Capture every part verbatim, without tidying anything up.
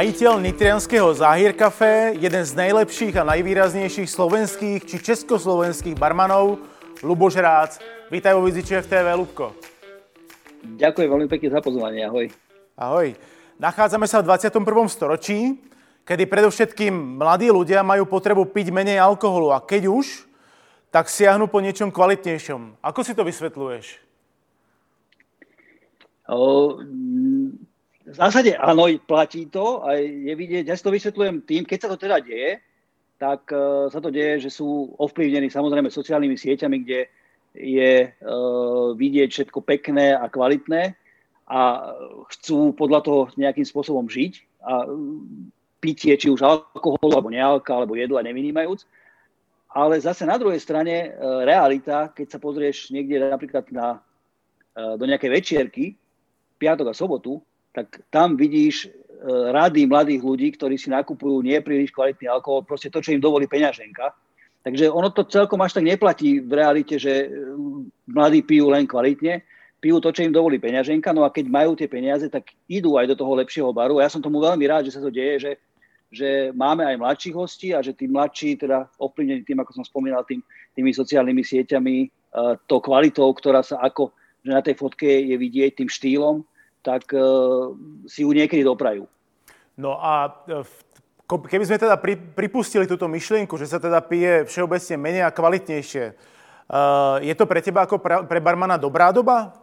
Majitel nitrianského Záhir Café, jeden z najlepších a najvýraznejších slovenských či československých barmanov, Ľuboš Rác. Vítaj vo Viziči ef té vé, Ľubko. Ďakujem veľmi pekne za pozvanie, ahoj. Ahoj. Nachádzame sa v dvadsiatom prvom storočí, kedy predovšetkým mladí ľudia majú potrebu piť menej alkoholu a keď už, tak siahnu po niečom kvalitnejšom. Ako si to vysvetľuješ? O, v zásade áno, platí to a je vidieť, ja si to vysvetľujem tým, keď sa to teda deje, tak uh, sa to deje, že sú ovplyvnení samozrejme sociálnymi sieťami, kde je uh, vidieť všetko pekné a kvalitné a chcú podľa toho nejakým spôsobom žiť a pitie, či už alkoholu, alebo nealka, alebo jedla nevynímajúc. Ale zase na druhej strane uh, realita, keď sa pozrieš niekde napríklad na, uh, do nejakej večierky, piatok a sobotu, tak tam vidíš rady mladých ľudí, ktorí si nakupujú nepríliš kvalitný alkohol, proste to, čo im dovolí peňaženka. Takže ono to celkom až tak neplatí v realite, že mladí pijú len kvalitne, pijú to, čo im dovolí peňaženka, no a keď majú tie peniaze, tak idú aj do toho lepšieho baru. Ja som tomu veľmi rád, že sa to deje, že, že máme aj mladších hostí a že tí mladší, teda ovplyvnení tým, ako som spomínal, tým, tými sociálnymi sieťami, to kvalitou, ktorá sa ako, že na tej fotke je vidieť, tým štýlom, tak uh, si ju niekedy doprajú. No a keby sme teda pri, pripustili túto myšlienku, že sa teda pije všeobecne menej a kvalitnejšie, uh, je to pre teba ako pre, pre barmana dobrá doba?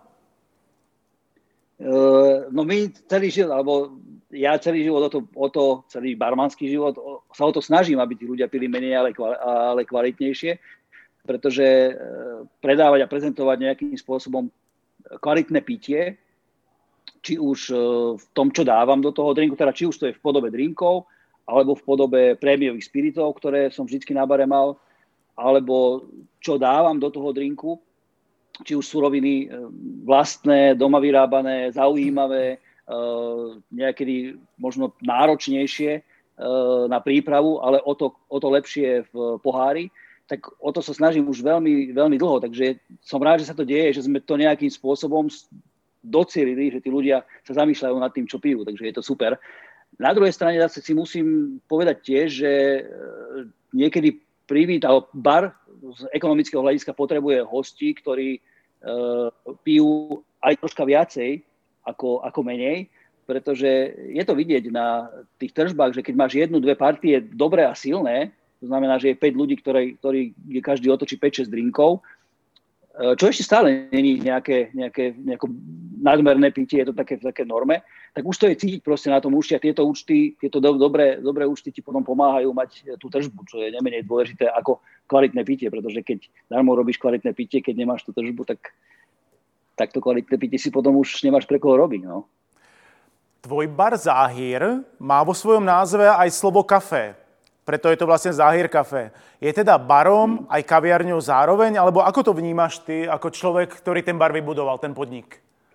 Uh, no my celý život, alebo ja celý život, o to, o to celý barmanský život, o, sa o to snažím, aby tí ľudia pili menej, ale, ale kvalitnejšie, pretože uh, predávať a prezentovať nejakým spôsobom kvalitné pitie, či už v tom, čo dávam do toho drinku, teda či už to je v podobe drinkov, alebo v podobe prémiových spiritov, ktoré som vždycky na bare mal, alebo čo dávam do toho drinku, či už suroviny vlastné, doma vyrábané, zaujímavé, niekedy možno náročnejšie na prípravu, ale o to, o to lepšie v pohári, tak o to sa snažím už veľmi, veľmi dlho. Takže som rád, že sa to deje, že sme to nejakým spôsobom docielili, že tí ľudia sa zamýšľajú nad tým, čo pijú, takže je to super. Na druhej strane zase si musím povedať tiež, že niekedy privítal bar z ekonomického hľadiska potrebuje hostí, ktorí uh, pijú aj troška viacej ako, ako menej, pretože je to vidieť na tých tržbách, že keď máš jednu, dve partie dobré a silné, to znamená, že je päť ľudí, ktorí, ktorí každý otočí päť šesť drinkov, čo ešte stále není nejaké, nejaké, nejaké nadmerné pitie, je to také, také norme, tak už to je cítiť proste na tom účte a tieto účty, tieto do, dobré, dobré účty ti potom pomáhajú mať tú tržbu, čo je nemenej dôležité ako kvalitné pitie, pretože keď darmo robíš kvalitné pitie, keď nemáš tú tržbu, tak, tak to kvalitné pitie si potom už nemáš pre koho robiť. No. Tvoj bar Záhir má vo svojom názve aj slovo kafé. Preto je to vlastne Záhir Café. Je teda barom aj kaviarňou zároveň, alebo ako to vnímaš ty ako človek, ktorý ten bar vybudoval, ten podnik?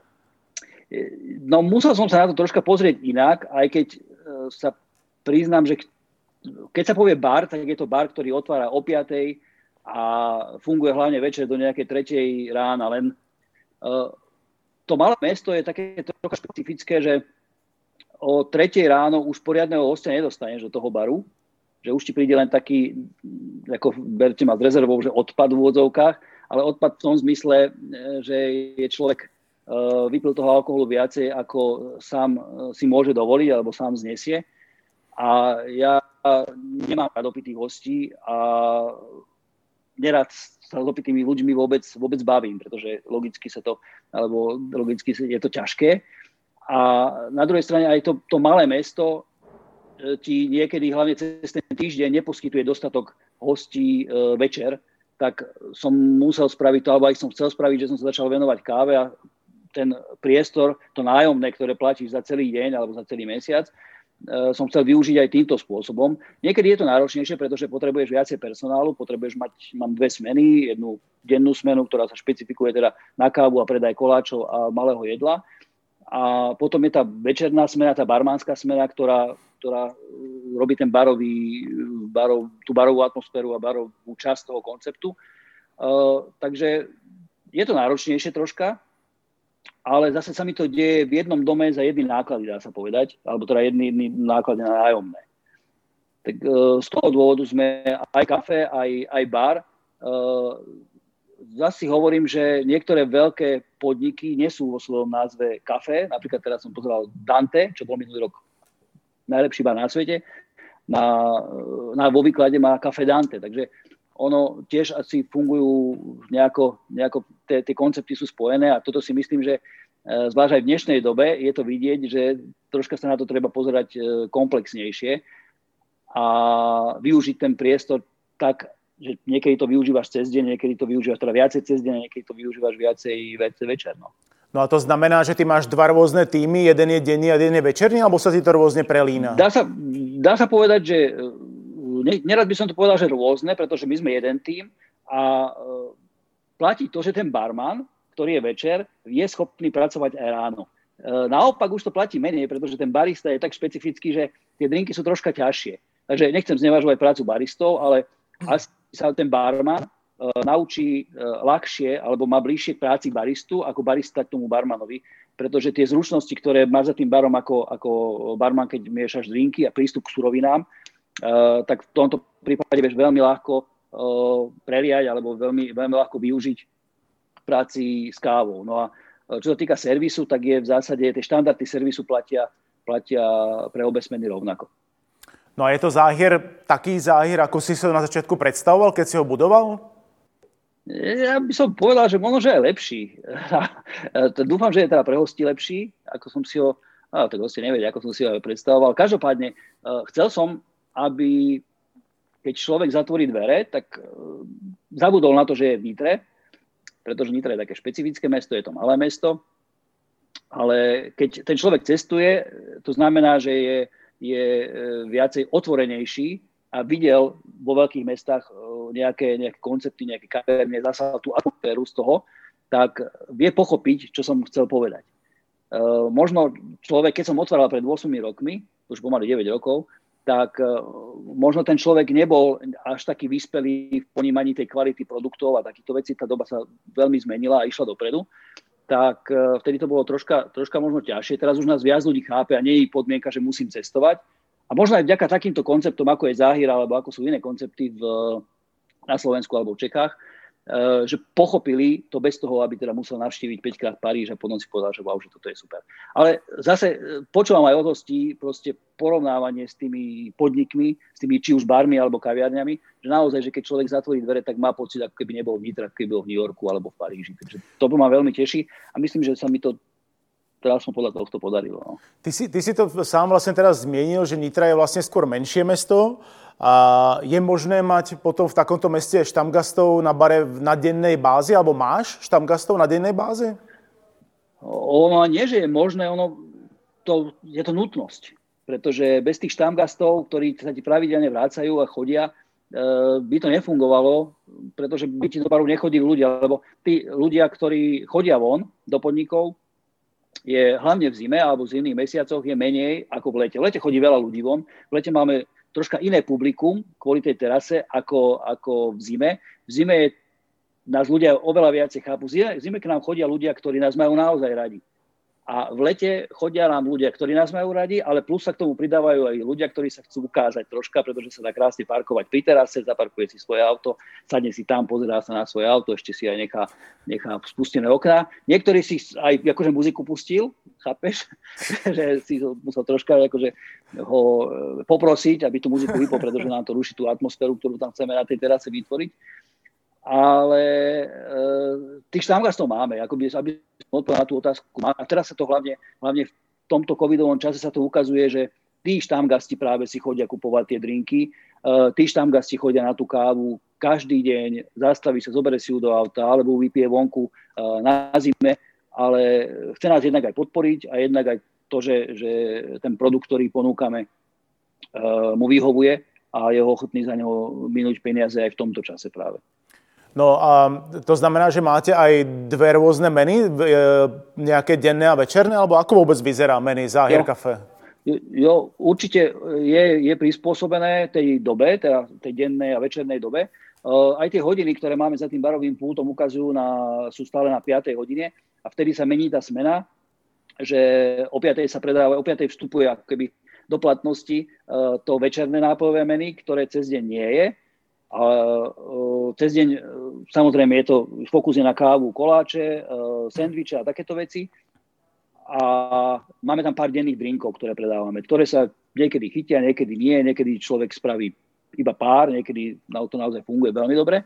No musel som sa na to troška pozrieť inak, aj keď sa priznám, že keď sa povie bar, tak je to bar, ktorý otvára o piatej a funguje hlavne večer do nejakej tretej rána. Len to malé mesto je také trocha špecifické, že o tretej ráno už poriadneho hostia nedostaneš do toho baru, že už ti príde len taký, ako berte ma s rezervou, že odpad v úvodzovkách, ale odpad v tom zmysle, že je človek uh, vypil toho alkoholu viacej, ako sám uh, si môže dovoliť, alebo sám znesie. A ja nemám rád opitých hostí a nerad sa s opitými ľuďmi vôbec, vôbec bavím, pretože logicky sa to, alebo logicky je to ťažké. A na druhej strane aj to, to malé mesto ti niekedy, hlavne cez ten týždeň, neposkytuje dostatok hostí e, večer, tak som musel spraviť to, alebo aj som chcel spraviť, že som sa začal venovať káve a ten priestor, to nájomné, ktoré platíš za celý deň alebo za celý mesiac, e, som chcel využiť aj týmto spôsobom. Niekedy je to náročnejšie, pretože potrebuješ viacej personálu, potrebuješ mať, mám dve smeny, jednu dennú smenu, ktorá sa špecifikuje teda na kávu a predaj koláčov a malého jedla. A potom je tá večerná smena, tá barmánska smena, ktorá, ktorá robí ten barový, barov, tú barovú atmosféru a barovú časť toho konceptu. Uh, takže je to náročnejšie troška, ale zase sa mi to deje v jednom dome za jedny náklady, dá sa povedať, alebo teda jedny, jedny náklady na nájomné. Tak z toho dôvodu sme aj kafe, aj, aj bar. Zase hovorím, že niektoré veľké podniky nesú vo svojom názve kafe. Napríklad teraz som pozeral Dante, čo bol minulý rok najlepší bar na svete. Na, na, vo výklade má kafe Dante. Takže ono tiež asi fungujú nejako, nejako tie, tie koncepty sú spojené a toto si myslím, že zvlášť aj v dnešnej dobe je to vidieť, že troška sa na to treba pozerať komplexnejšie a využiť ten priestor tak, že niekedy to využívaš cez deň, niekedy to využívaš teda viacej cez deň, niekedy to využívaš viacej večer. No. No a to znamená, že ty máš dva rôzne týmy, jeden je denný a jeden je večerný, alebo sa ti to rôzne prelína? Dá sa, dá sa povedať, že nerad by som to povedal, že rôzne, pretože my sme jeden tím a platí to, že ten barman, ktorý je večer, je schopný pracovať aj ráno. Naopak už to platí menej, pretože ten barista je tak špecifický, že tie drinky sú troška ťažšie. Takže nechcem znevažovať prácu baristov, ale asi sa ten barman uh, naučí uh, ľahšie alebo má bližšie k práci baristu ako barista k tomu barmanovi, pretože tie zručnosti, ktoré máš za tým barom ako, ako barman, keď miešaš drinky a prístup k surovinám, uh, tak v tomto prípade vieš veľmi ľahko uh, preliať alebo veľmi, veľmi ľahko využiť v práci s kávou. No a uh, čo sa týka servisu, tak je v zásade tie štandardy servisu platia, platia pre obe smeny rovnako. No a je to záhier, taký záhier, ako si sa na začiatku predstavoval, keď si ho budoval? Ja by som povedal, že možno, že je lepší. Dúfam, že je teda pre hostí lepší, ako som si ho, á, tak hostia nevedia, ako som si ho predstavoval. Každopádne, chcel som, aby keď človek zatvorí dvere, tak zabudol na to, že je v Nitre, pretože Nitra je také špecifické mesto, je to malé mesto, ale keď ten človek cestuje, to znamená, že je je viacej otvorenejší a videl vo veľkých mestách nejaké, nejaké koncepty, nejaké kaverne, zasa tú atmosféru z toho, tak vie pochopiť, čo som chcel povedať. Uh, možno človek, keď som otváral pred ôsmimi rokmi, už pomaly deväť rokov, tak uh, možno ten človek nebol až taký vyspelý v ponímaní tej kvality produktov a takýchto vecí. Tá doba sa veľmi zmenila a išla dopredu. Tak vtedy to bolo troška, troška možno ťažšie. Teraz už nás viac ľudí chápe a nie je podmienka, že musím cestovať. A možno aj vďaka takýmto konceptom, ako je Záhir, alebo ako sú iné koncepty v, na Slovensku alebo v Čechách, že pochopili to bez toho, aby teda musel navštíviť päťkrát Paríž a potom si povedal, že wow, že toto je super. Ale zase počúvam aj od hostí proste porovnávanie s tými podnikmi, s tými či už barmi alebo kaviarňami, že naozaj, že keď človek zatvorí dvere, tak má pocit, ako keby nebol v Nitre, ako keby bol v New Yorku alebo v Paríži. Takže to ma veľmi teší a myslím, že sa mi to teraz som podľa tohto podarilo. No. Ty si, ty si to sám vlastne teraz zmienil, že Nitra je vlastne skôr menšie mesto. A je možné mať potom v takomto meste štamgastov na bare na dennej báze, alebo máš štamgastov na dennej báze? Ono nie, že je možné, ono to, je to nutnosť. Pretože bez tých štamgastov, ktorí sa ti pravidelne vrácajú a chodia, by to nefungovalo, pretože by ti do baru nechodili ľudia, lebo tí ľudia, ktorí chodia von do podnikov, je hlavne v zime alebo v zimných mesiacoch je menej ako v lete. V lete chodí veľa ľudí von, v lete máme troška iné publikum kvôli tej terase ako, ako v zime. V zime je, nás ľudia oveľa viacej chápu. V zime k nám chodia ľudia, ktorí nás majú naozaj radi. A v lete chodia nám ľudia, ktorí nás majú radi, ale plus sa k tomu pridávajú aj ľudia, ktorí sa chcú ukázať troška, pretože sa dá krásne parkovať pri terase, zaparkuje si svoje auto, sadne si tam, pozerá sa na svoje auto, ešte si aj nechá, nechá spustené okná. Niektorý si aj akože muziku pustil, chápeš? Že si musel troška akože ho poprosiť, aby tú muziku vypol, pretože nám to ruší tú atmosféru, ktorú tam chceme na tej terase vytvoriť. Ale e, tých štamgastov máme, akoby, aby som odpovedal na tú otázku. A teraz sa to hlavne, hlavne v tomto covidovom čase sa to ukazuje, že tí štamgasti práve si chodia kupovať tie drinky, e, tí štamgasti chodia na tú kávu každý deň, zastaví sa, zoberie si ju do auta, alebo vypije vonku e, na zime, ale chce nás jednak aj podporiť a jednak aj to, že, že ten produkt, ktorý ponúkame, e, mu vyhovuje a je ochotný za neho minúť peniaze aj v tomto čase práve. No a to znamená, že máte aj dve rôzne meny, nejaké denné a večerné, alebo ako vôbec vyzerá menu Záhir jo. Café? Jo, určite je, je prispôsobené tej dobe, teda tej dennej a večernej dobe. Aj tie hodiny, ktoré máme za tým barovým pultom, ukazujú na, sú stále na piatej hodine. a vtedy sa mení tá smena, že o piatej sa predáva, o piatej vstupuje ako keby do platnosti to večerné nápojové menu, ktoré cez deň nie je. A cez deň samozrejme je to fokus je na kávu, koláče, sendviče a takéto veci. A máme tam pár denných drinkov, ktoré predávame, ktoré sa niekedy chytia, niekedy nie, niekedy človek spraví iba pár, niekedy to naozaj funguje veľmi dobre.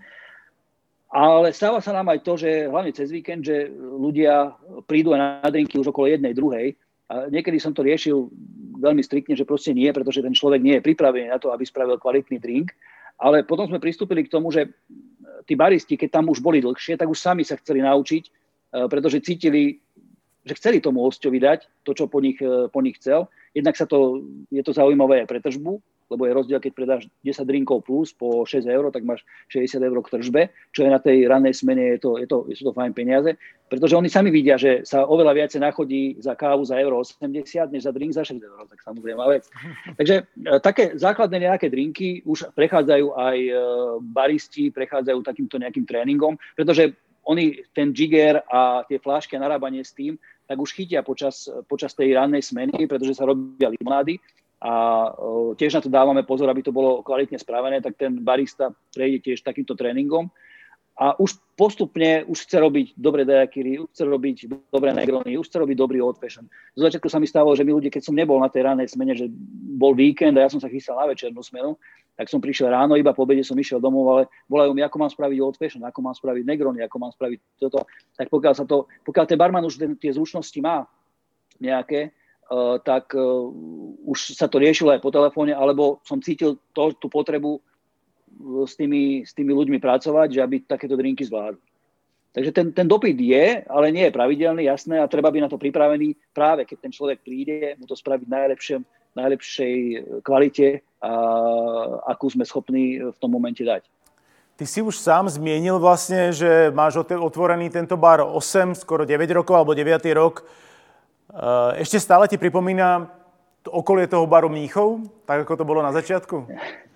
Ale stáva sa nám aj to, že hlavne cez víkend, že ľudia prídu aj na drinky už okolo jednej, druhej. A niekedy som to riešil veľmi striktne, že proste nie, pretože ten človek nie je pripravený na to, aby spravil kvalitný drink. Ale potom sme pristúpili k tomu, že tí baristi, keď tam už boli dlhšie, tak už sami sa chceli naučiť, pretože cítili, že chceli tomu hosťovi dať to, čo po nich, po nich chcel. Jednak sa to, je to zaujímavé aj pre tržbu, lebo je rozdiel, keď predáš desať drinkov plus po šesť eur, tak máš šesťdesiat eur k tržbe, čo je na tej rannej smene, je to, je to, sú to fajn peniaze, pretože oni sami vidia, že sa oveľa viacej nachodí za kávu za euro osemdesiat, než za drink za šesť eur, tak samozrejme vec. Takže také základné nejaké drinky už prechádzajú aj baristi, prechádzajú takýmto nejakým tréningom, pretože oni ten jigger a tie flášky a narábanie s tým, tak už chytia počas, počas tej rannej smeny, pretože sa robia limonády. A tiež na to dávame pozor, aby to bolo kvalitne spravené, tak ten barista prejde tiež takýmto tréningom a už postupne už chce robiť dobré daiquiri, už chce robiť dobré negrony, už chce robiť dobrý old fashion. Zo začiatku sa mi stalo, že my ľudia, keď som nebol na tej ranej smene, že bol víkend a ja som sa chystal na večernú smenu, tak som prišiel ráno, iba po obede som išiel domov, ale volajú mi, ako mám spraviť old fashion, ako mám spraviť negrony, ako mám spraviť toto. Tak pokiaľ sa to, pokiaľ ten barman už tie zručnosti má nejaké, Uh, tak uh, už sa to riešilo aj po telefóne, alebo som cítil to, tú potrebu uh, s, tými, s tými ľuďmi pracovať, že aby takéto drinky zvládli. Takže ten, ten dopyt je, ale nie je pravidelný, jasné, a treba byť na to pripravený práve, keď ten človek príde, mu to spraviť v najlepšej, najlepšej kvalite, a, akú sme schopní v tom momente dať. Ty si už sám zmienil vlastne, že máš otvorený tento bar osem, skoro deväť rokov, alebo deviaty rok. Ešte stále ti pripomína okolie toho baru Mníchov, tak ako to bolo na začiatku?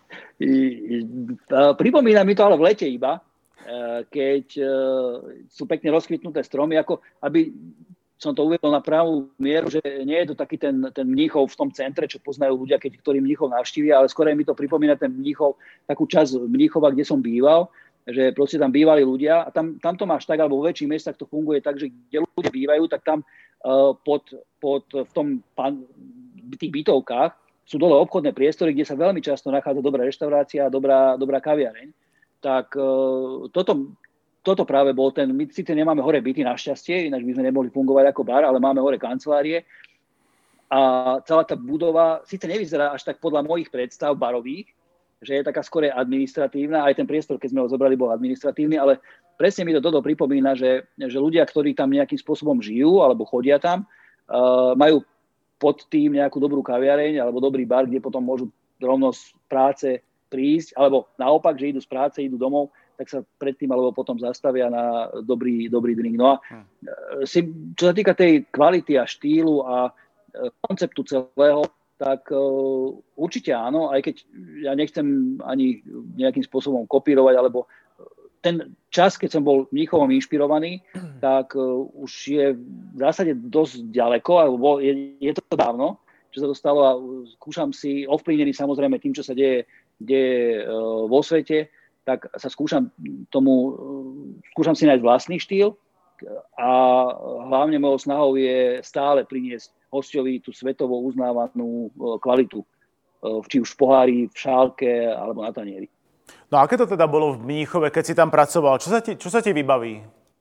Pripomína mi to ale v lete iba, keď sú pekne rozkvitnuté stromy, ako aby som to uvedol na pravú mieru, že nie je to taký ten, ten Mníchov v tom centre, čo poznajú ľudia, keď ktorí Mníchov navštívia, ale skôr mi to pripomína ten Mníchov, takú časť Mníchova, kde som býval, že proste tam bývali ľudia a tam, tam to máš tak, alebo vo väčších mestách to funguje tak, že kde ľudia bývajú, tak tam uh, pod, pod, v tom pan, tých bytovkách sú dole obchodné priestory, kde sa veľmi často nachádza dobrá reštaurácia a dobrá, dobrá kaviareň. Tak uh, toto, toto práve bol ten, my síce nemáme hore byty našťastie, ináč by sme nemohli fungovať ako bar, ale máme hore kancelárie a celá tá budova síce nevyzerá až tak podľa mojich predstav barových, že je taká skôr administratívna, aj ten priestor, keď sme ho zobrali, bol administratívny, ale presne mi to toto pripomína, že, že ľudia, ktorí tam nejakým spôsobom žijú alebo chodia tam, uh, majú pod tým nejakú dobrú kaviareň alebo dobrý bar, kde potom môžu rovno z práce prísť, alebo naopak, že idú z práce, idú domov, tak sa predtým alebo potom zastavia na dobrý, dobrý drink. No a uh, si, čo sa týka tej kvality a štýlu a uh, konceptu celého, tak uh, určite áno, aj keď ja nechcem ani nejakým spôsobom kopírovať, alebo ten čas, keď som bol Mníchovom inšpirovaný, tak uh, už je v zásade dosť ďaleko, alebo je, je to dávno, čo sa to stalo a skúšam si, ovplyvnený samozrejme tým, čo sa deje, deje uh, vo svete, tak sa skúšam tomu, uh, skúšam si nájsť vlastný štýl a hlavne mojou snahou je stále priniesť hosťovi tú svetovo uznávanú kvalitu, či už v pohári, v šálke alebo na tanieri. No a aké to teda bolo v Mníchove, keď si tam pracoval? Čo sa ti, čo sa ti vybaví?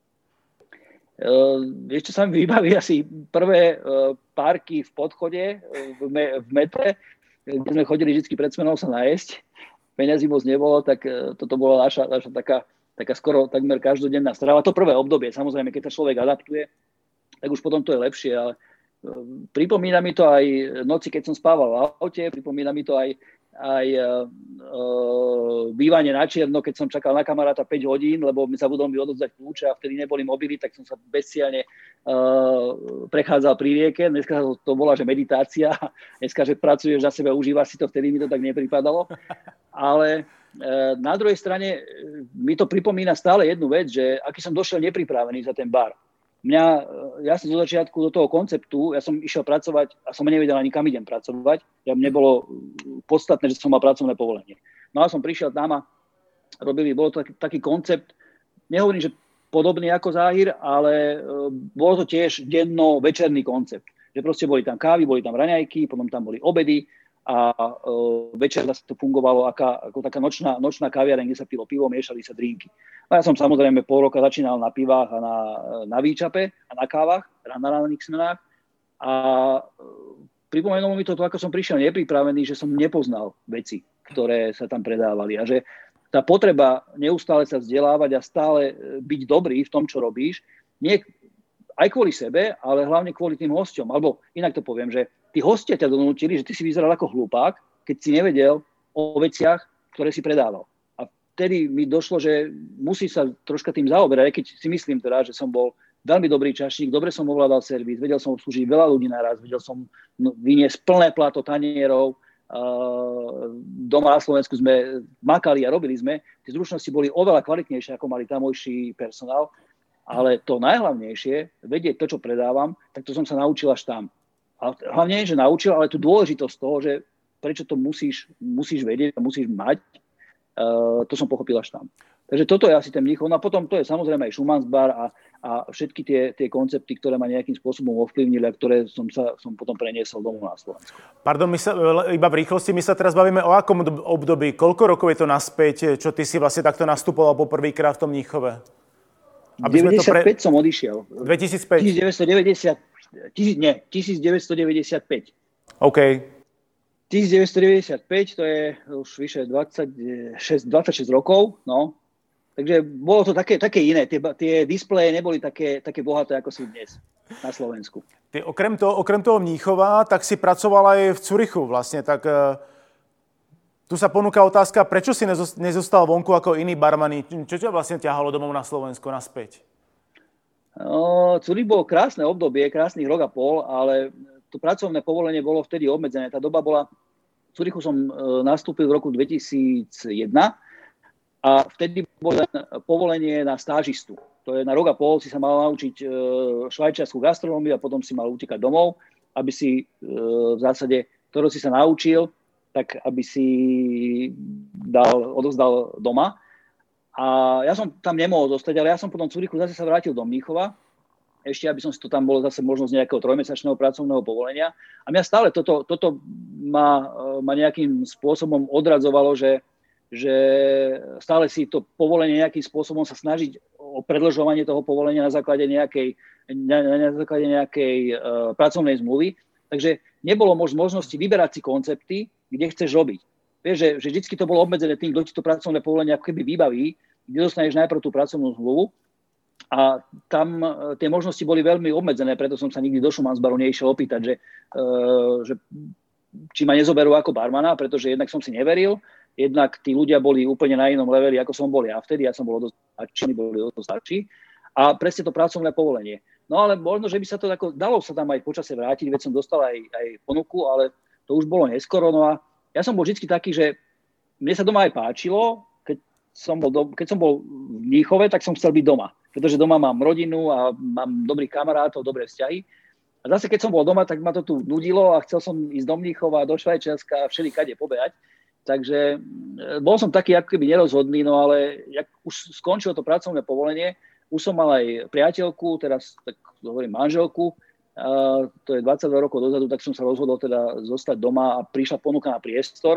Uh, ešte sa mi vybaví asi prvé uh, párky v podchode v, me, v metre, kde sme chodili vždy pred smenou sa najesť. Peňazí moc nebolo, tak uh, toto bola naša, naša taká, taká skoro takmer každodenná strava. To prvé obdobie, samozrejme, keď sa človek adaptuje, tak už potom to je lepšie, ale pripomína mi to aj noci, keď som spával v aute, pripomína mi to aj, aj uh, uh, bývanie na čierno, keď som čakal na kamaráta päť hodín, lebo mi zabudol mi odovzdať kľúče a vtedy neboli mobily, tak som sa bezcielne uh, prechádzal pri rieke. Dneska to bola, že meditácia, dneska, že pracuješ za sebe, užívaš si to, vtedy mi to tak nepripadalo. Ale uh, na druhej strane mi to pripomína stále jednu vec, že aký som došiel nepripravený za ten bar. Mňa, ja som zo začiatku do toho konceptu, ja som išiel pracovať a som nevedel ani kam idem pracovať. Ja mne bolo podstatné, že som mal pracovné povolenie. No a som prišiel tam a robili, bol to taký, taký koncept, nehovorím, že podobný ako Záhir, ale bolo to tiež denno-večerný koncept. Že proste boli tam kávy, boli tam raňajky, potom tam boli obedy a uh, večer zase to fungovalo aká, ako taká nočná, nočná kaviareň, kde sa pilo pivo, miešali sa drinky. A ja som samozrejme pol roka začínal na pivách a na, na výčape a na kávach, na ranných smenách. A uh, pripomenulo mi to, to, ako som prišiel nepripravený, že som nepoznal veci, ktoré sa tam predávali. A že tá potreba neustále sa vzdelávať a stále byť dobrý v tom, čo robíš, nie aj kvôli sebe, ale hlavne kvôli tým hosťom. Alebo inak to poviem, že tí hostia ťa donútili, že ty si vyzeral ako hlupák, keď si nevedel o veciach, ktoré si predával. A vtedy mi došlo, že musí sa troška tým zaoberať, aj keď si myslím teda, že som bol veľmi dobrý čašník, dobre som ovládal servis, vedel som obslúžiť veľa ľudí naraz, vedel som vyniesť plné plato tanierov, uh, doma na Slovensku sme makali a robili sme, tie zručnosti boli oveľa kvalitnejšie, ako mali tamojší personál, ale to najhlavnejšie, vedieť to, čo predávam, tak to som sa naučil až tam. A hlavne nie, že naučil, ale tú dôležitosť toho, že prečo to musíš, musíš vedieť a musíš mať, uh, to som pochopil až tam. Takže toto je asi ten Mníchov. No a potom to je samozrejme aj Schumannsbar a, a všetky tie, tie koncepty, ktoré ma nejakým spôsobom ovplyvnili a ktoré som, sa, som potom preniesol domov na Slovensku. Pardon, my sa, iba v rýchlosti, my sa teraz bavíme o akom období, koľko rokov je to naspäť, čo ty si vlastne takto nastupoval poprvýkrát v tom Mníchove? Aby deväťdesiatpäť pre... som odišiel. dvetisícpäť? devätnásťstodeväťdesiat, tisíc, nie, devätnásťstodeväťdesiatpäť. OK. devätnásťstodeväťdesiatpäť, to je už vyše dvadsaťšesť, dvadsaťšesť rokov, no. Takže bolo to také, také iné. Tie, tie displeje neboli také, také bohaté, ako sú dnes na Slovensku. Ty okrem toho, okrem toho Mníchova, tak si pracoval aj v Curychu vlastne, tak uh, tu sa ponúka otázka, prečo si nezostal vonku ako iní barmani? Čo ťa vlastne ťahalo domov na Slovensko naspäť? No, Curich bol krásne obdobie, krásnych rok a pol, ale to pracovné povolenie bolo vtedy obmedzené. Tá doba bola, v Curychu som uh, nastúpil v roku dvetisícjeden a vtedy bolo povolenie na stážistu. To je na rok a pol si sa mal naučiť uh, švajčiarsku gastronómiu a potom si mal utekať domov, aby si uh, v zásade, ktorú si sa naučil, tak aby si dal, odozdal doma. A ja som tam nemohol zostať, ale ja som potom v Curychu zase sa vrátil do Mníchova, ešte aby som si to tam bol zase možnosť nejakého trojmesačného pracovného povolenia. A mňa stále toto, toto ma, ma nejakým spôsobom odradzovalo, že, že stále si to povolenie nejakým spôsobom sa snažiť o predĺžovanie toho povolenia na základe nejakej, na, na základe nejakej uh, pracovnej zmluvy. Takže nebolo mož, možnosti vyberať si koncepty, kde chceš robiť. Vieš, že, že vždycky to bolo obmedzené tým, kto ti to pracovné povolenie ako keby vybaví, kde dostaneš najprv tú pracovnú zmluvu. A tam tie možnosti boli veľmi obmedzené, preto som sa nikdy do Schumannsbaru neišiel opýtať, že, uh, že či ma nezoberú ako barmana, pretože jednak som si neveril, jednak tí ľudia boli úplne na inom leveli, ako som bol ja vtedy, ja som bol dosť starší, boli dosť starší. A presne to pracovné povolenie. No ale možno, že by sa to tako, dalo sa tam aj počase vrátiť, veď som dostal aj, aj ponuku, ale to už bolo neskoro. No a ja som bol vždy taký, že mne sa doma aj páčilo, keď som bol, do, keď som bol v Mníchove, tak som chcel byť doma. Pretože doma mám rodinu a mám dobrých kamarátov, dobré vzťahy. A zase keď som bol doma, tak ma to tu nudilo a chcel som ísť do Mníchova, do Švajčiarska a všelikade pobehať. Takže bol som taký ako keby nerozhodný, no ale jak už skončilo to pracovné povolenie, už som mal aj priateľku, teraz tak hovorím manželku, a to je dvadsaťdva rokov dozadu, tak som sa rozhodol teda zostať doma a prišla ponuka na priestor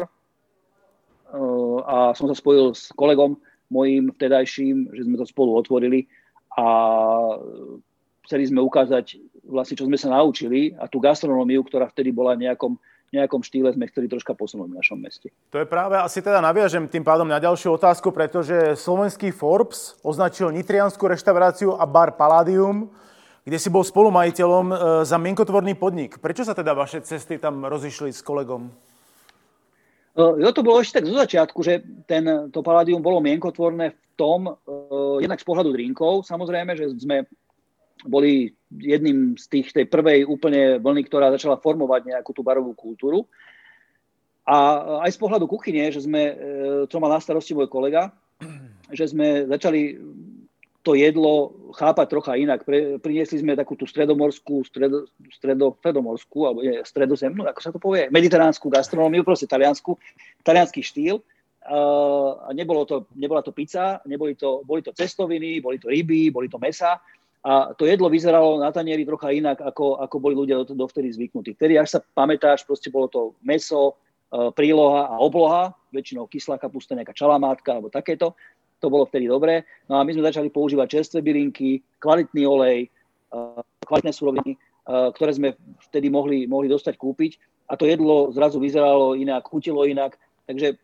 a som sa spojil s kolegom mojím vtedajším, že sme to spolu otvorili a chceli sme ukázať vlastne, čo sme sa naučili a tú gastronómiu, ktorá vtedy bola v nejakom, nejakom štýle, sme chceli troška posunúť v našom meste. To je práve, asi teda naviažem tým pádom na ďalšiu otázku, pretože slovenský Forbes označil nitriansku reštauráciu a bar Palladium, kde si bol spolumajiteľom za mienkotvorný podnik. Prečo sa teda vaše cesty tam rozišli s kolegom? Jo, to bolo ešte tak zo začiatku, že ten, to Palladium bolo mienkotvorné v tom, uh, jednak z pohľadu drinkov, samozrejme, že sme boli jedným z tých, tej prvej úplne vlny, ktorá začala formovať nejakú tú barovú kultúru. A aj z pohľadu kuchyne, že sme, uh, čo mal na starosti môj kolega, že sme začali to jedlo chápať trocha inak. Pre, priniesli sme takú tú stredomorskú, stredo, stredo, stredomorskú, alebo nie, stredozemnú, ako sa to povie, mediteránsku gastronómiu, proste taliansku, taliansky štýl. Uh, a nebolo to, nebola to pizza, neboli to, boli to cestoviny, boli to ryby, boli to mäsa. A to jedlo vyzeralo na tanieri trocha inak, ako, ako boli ľudia dovtedy zvyknutí. Vtedy, až sa pamätáš, proste bolo to mäso, uh, príloha a obloha, väčšinou kyslá kapusta, nejaká čalamátka, alebo takéto. To bolo vtedy dobré. No a my sme začali používať čerstvé bylinky, kvalitný olej, kvalitné suroviny, ktoré sme vtedy mohli, mohli dostať kúpiť. A to jedlo zrazu vyzeralo inak, chutilo inak. Takže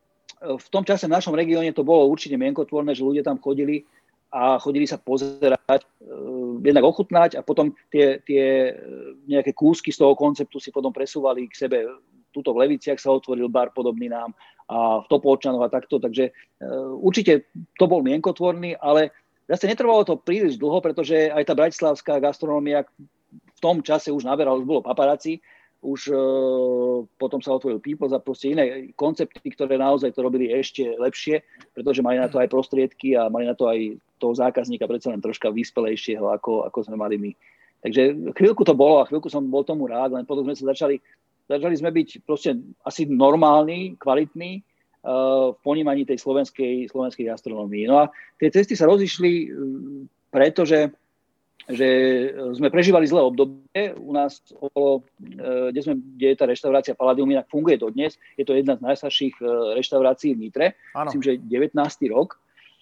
v tom čase v našom regióne to bolo určite mienkotvorné, že ľudia tam chodili a chodili sa pozerať, jednak ochutnať a potom tie, tie nejaké kúsky z toho konceptu si potom presúvali k sebe. Tuto v Leviciach sa otvoril bar podobný nám a v Topolčanoch a takto, takže uh, určite to bol mienkotvorný, ale zase netrvalo to príliš dlho, pretože aj tá bratislavská gastronómia v tom čase už naberala, už bolo paparazzi, už uh, potom sa otvoril Peoples a proste iné koncepty, ktoré naozaj to robili ešte lepšie, pretože mali na to aj prostriedky a mali na to aj toho zákazníka predsa len troška vyspelejšieho, ako, ako sme mali my. Takže chvíľku to bolo a chvíľku som bol tomu rád, len potom sme sa začali Začali sme byť proste asi normálni, kvalitní uh, v ponímaní tej slovenskej, slovenskej gastronómii. No a tie cesty sa rozišli, um, pretože že sme prežívali zlé obdobie. U nás okolo, uh, kde, sme, kde je tá reštaurácia Palladium, inak funguje dodnes. Je to jedna z najstarších uh, reštaurácií v Nitre. Áno. Myslím, že devätnásty rok.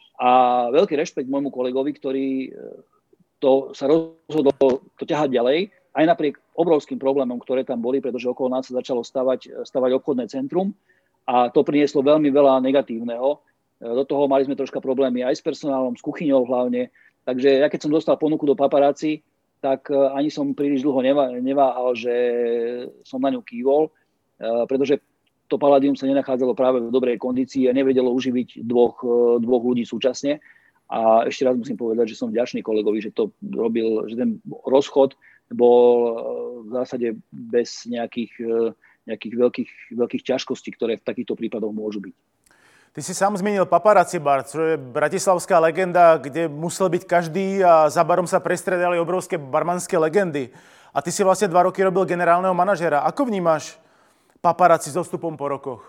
A veľký rešpekt môjmu kolegovi, ktorý uh, to sa rozhodol to ťahať ďalej. Aj napriek obrovským problémom, ktoré tam boli, pretože okolo nás sa začalo stavať, stavať obchodné centrum a to prinieslo veľmi veľa negatívneho. Do toho mali sme troška problémy aj s personálom, s kuchyňou hlavne. Takže ja keď som dostal ponuku do paparazzi, tak ani som príliš dlho neváhal, že som na ňu kývol, pretože to Palladium sa nenachádzalo práve v dobrej kondícii a nevedelo uživiť dvoch, dvoch ľudí súčasne. A ešte raz musím povedať, že som vďačný kolegovi, že to robil, že ten rozchod bol v zásade bez nejakých, nejakých veľkých, veľkých ťažkostí, ktoré v takýchto prípadoch môžu byť. Ty si sám zmenil Paparazzi bar, čo je bratislavská legenda, kde musel byť každý a za barom sa prestredali obrovské barmanské legendy. A ty si vlastne dva roky robil generálneho manažera. Ako vnímaš Paparazzi s odstupom po rokoch?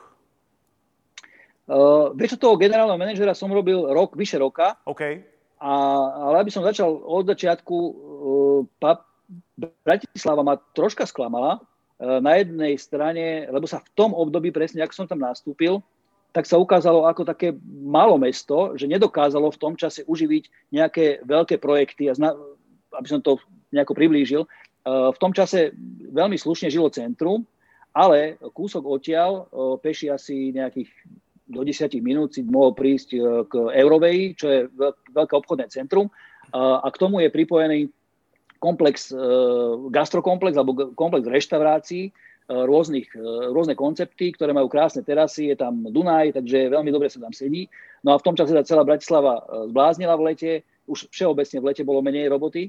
Uh, vieš, toho generálneho manažera som robil rok, vyše roka. OK. A, ale aby som začal od začiatku, uh, pap, Bratislava ma troška sklamala. Na jednej strane, lebo sa v tom období, presne ako som tam nastúpil, tak sa ukázalo ako také malé mesto, že nedokázalo v tom čase uživiť nejaké veľké projekty. A zna, aby som to nejako priblížil, v tom čase veľmi slušne žilo centrum, ale kúsok odtiaľ, peši asi nejakých do desať minút si mohol prísť k Euroveji, čo je veľké obchodné centrum. A k tomu je pripojený komplex, gastrokomplex alebo komplex reštaurácií, rôznych, rôzne koncepty, ktoré majú krásne terasy, je tam Dunaj, takže veľmi dobre sa tam sedí. No a v tom čase sa celá Bratislava zbláznila v lete, už všeobecne v lete bolo menej roboty,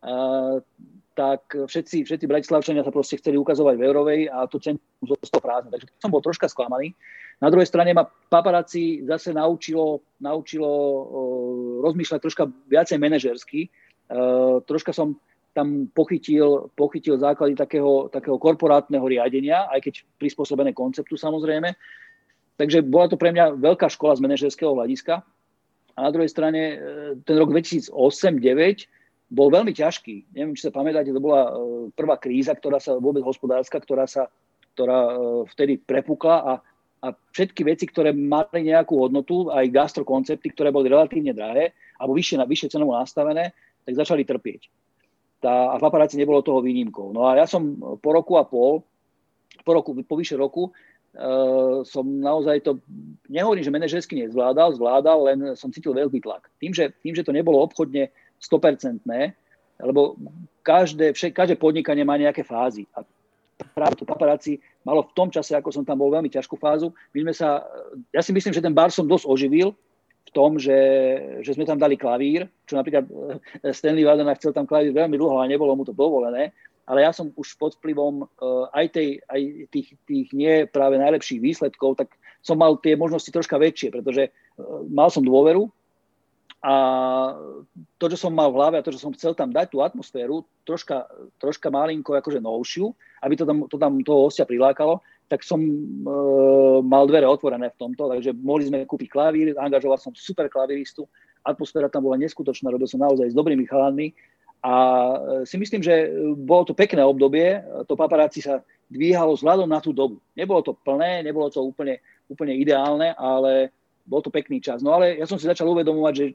tak všetci, všetci Bratislavčania sa proste chceli ukazovať v Eurovej a to centrum zostalo prázdne. Takže som bol troška sklamaný. Na druhej strane ma Paparazzi zase naučilo, naučilo rozmýšľať troška viacej manažersky. Troška som tam pochytil, pochytil základy takého, takého korporátneho riadenia, aj keď prispôsobené konceptu samozrejme. Takže bola to pre mňa veľká škola z manažerského hľadiska. A na druhej strane ten rok dvetisícosem deväť bol veľmi ťažký. Neviem, či sa pamätáte, to bola prvá kríza, ktorá sa vôbec hospodárska, ktorá sa ktorá vtedy prepukla a, a všetky veci, ktoré mali nejakú hodnotu, aj gastrokoncepty, ktoré boli relatívne drahé alebo vyššie, vyššie cenovo nastavené, tak začali trpieť. Tá, a v Paparazzi nebolo toho výnimkou. No a ja som po roku a pol, po roku, po vyše roku, uh, som naozaj to, nehovorím, že manažersky nezvládal, zvládal, len som cítil veľký tlak. Tým, že, tým, že to nebolo obchodne sto percent, lebo každé, však, každé podnikanie má nejaké fázy. A práve to Paparazzi malo v tom čase, ako som tam bol, veľmi ťažkú fázu. My sme sa, ja si myslím, že ten bar som dosť oživil, v tom, že, že sme tam dali klavír, čo napríklad Stanley Wadena chcel tam klavír veľmi dlho a nebolo mu to dovolené, ale ja som už pod vplyvom uh, aj, tej, aj tých, tých nie práve najlepších výsledkov, tak som mal tie možnosti troška väčšie, pretože uh, mal som dôveru A to, čo som mal v hlave a to, čo som chcel tam dať, tú atmosféru, troška, troška malinko akože novšiu, aby to tam, to tam toho hostia prilákalo, tak som e, mal dvere otvorené v tomto, takže mohli sme kúpiť klavír, angažoval som super klaviristu, atmosféra tam bola neskutočná, robil som naozaj s dobrými chalanmi a si myslím, že bolo to pekné obdobie, to paparazzi sa dvíhalo vzhľadom na tú dobu. Nebolo to plné, nebolo to úplne, úplne ideálne, ale bol to pekný čas. No ale ja som si začal uvedomovať, že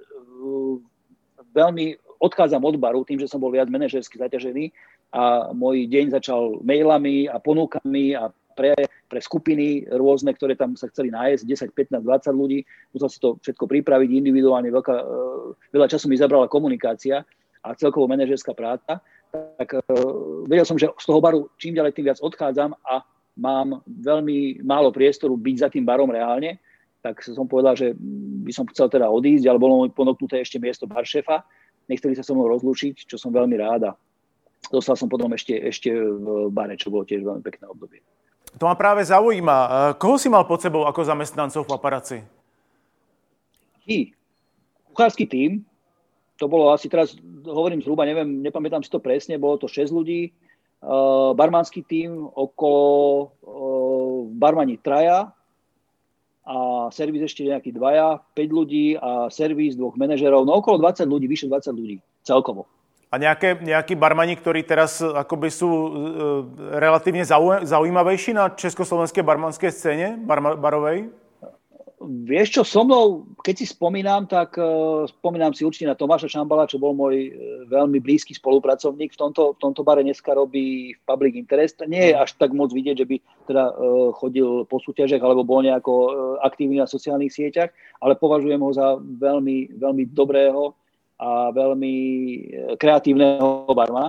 veľmi odchádzam od baru tým, že som bol viac manažersky zaťažený a môj deň začal mailami a ponúkami a pre, pre skupiny rôzne, ktoré tam sa chceli nájsť, desať, pätnásť, dvadsať ľudí. Musel si to všetko pripraviť individuálne. Veľká, veľa času mi zabrala komunikácia a celkovo manažerská práca. Tak vedel som, že z toho baru čím ďalej tým viac odchádzam a mám veľmi málo priestoru byť za tým barom reálne. Tak som povedal, že by som chcel teda odísť, ale bolo mi ponúknuté ešte miesto baršefa. Nechceli sa so mnou rozlúčiť, čo som veľmi rád a dostal som potom ešte, ešte v bare, čo bolo tiež veľmi pekné obdobie. To ma práve zaujíma. Koho si mal pod sebou ako zamestnancov paparazzi? I kuchársky tím, to bolo asi teraz, hovorím zhruba, neviem, nepamätám si to presne, bolo to šesť ľudí, uh, barmanský tím, okolo uh, barmani traja, a servis ešte nejaký dvaja, päť ľudí a servis dvoch manažerov, no okolo dvadsať ľudí, vyše dvadsať ľudí celkovo. A nejaké, nejakí barmani, ktorí teraz akoby sú e, relatívne zaujímavejší na československej barmanskej scéne, bar, barovej? Vieš čo, so mnou, keď si spomínam, tak uh, spomínam si určite na Tomáša Šambala, čo bol môj uh, veľmi blízky spolupracovník. V tomto, v tomto bare dneska robí v Public Interest. Nie je až tak moc vidieť, že by teda uh, chodil po súťažiach alebo bol nejako uh, aktívny na sociálnych sieťach, ale považujem ho za veľmi, veľmi dobrého a veľmi kreatívneho barmana.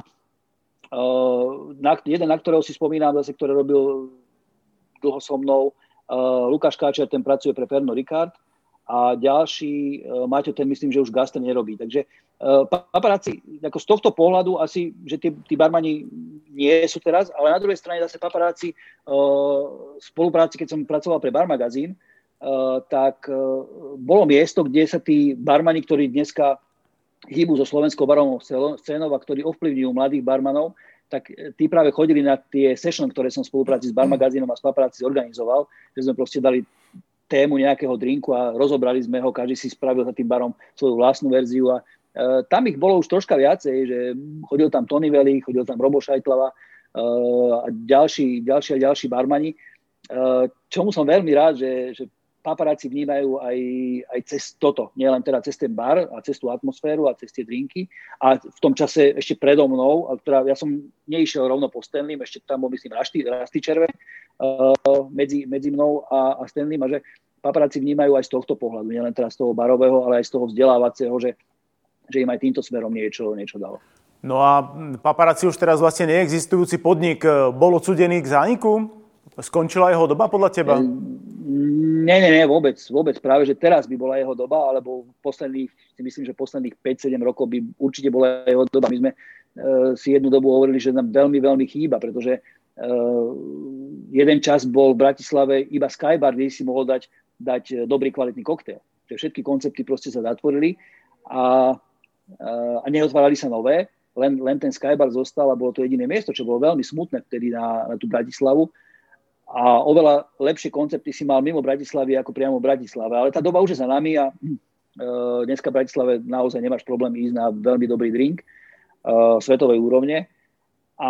Uh, na, jeden, na ktorého si spomínam, zase, ktorý robil dlho so mnou, Uh, Lukáš Káčer, ten pracuje pre Pernod Ricard a ďalší, uh, Maťo, ten myslím, že už gastr nerobí. Takže uh, paparazzi, ako z tohto pohľadu asi, že tí, tí barmani nie sú teraz, ale na druhej strane zase paparazzi uh, v spolupráci, keď som pracoval pre Bar magazín, uh, tak uh, bolo miesto, kde sa tí barmani, ktorí dneska hýbu so slovenskou barovou scénou a ktorí ovplyvňujú mladých barmanov, tak tí práve chodili na tie session, ktoré som v spolupráci s Bar magazínom a s paparazzi zorganizoval, že sme proste dali tému nejakého drinku a rozobrali sme ho, každý si spravil za tým barom svoju vlastnú verziu a e, tam ich bolo už troška viacej, že chodil tam Tony Veli, chodil tam Robo Šajtlava e, a ďalší, ďalší a ďalší barmani, e, čomu som veľmi rád, že, že paparazzi vnímajú aj, aj cez toto, nielen teda cez ten bar a cez tú atmosféru a cez tie drinky. A v tom čase ešte predo mnou, teda ja som neišiel rovno po Stanleym, ešte tam bol myslím Rasty Červe uh, medzi, medzi mnou a, a Stanleym, a že paparazzi vnímajú aj z tohto pohľadu, nielen teda z toho barového, ale aj z toho vzdelávacieho, že, že im aj týmto smerom niečo, niečo dalo. No a paparazzi už teraz vlastne neexistujúci podnik bol odsúdený k zániku? Skončila jeho doba podľa teba? Nie, nie, nie, vôbec, vôbec. Práve, že teraz by bola jeho doba, alebo posledných, si myslím, že posledných päť sedem rokov by určite bola jeho doba. My sme uh, si jednu dobu hovorili, že nám veľmi, veľmi chýba, pretože uh, jeden čas bol v Bratislave iba Skybar, kde si mohol dať, dať dobrý kvalitný koktail. Že všetky koncepty proste sa zatvorili a, uh, a neotvárali sa nové, len, len ten Skybar zostal a bolo to jediné miesto, čo bolo veľmi smutné vtedy na, na tú Bratislavu. A oveľa lepšie koncepty si mal mimo Bratislavy ako priamo v Bratislave. Ale tá doba už je za nami a hm, dneska v Bratislave naozaj nemáš problém ísť na veľmi dobrý drink uh, svetovej úrovne. A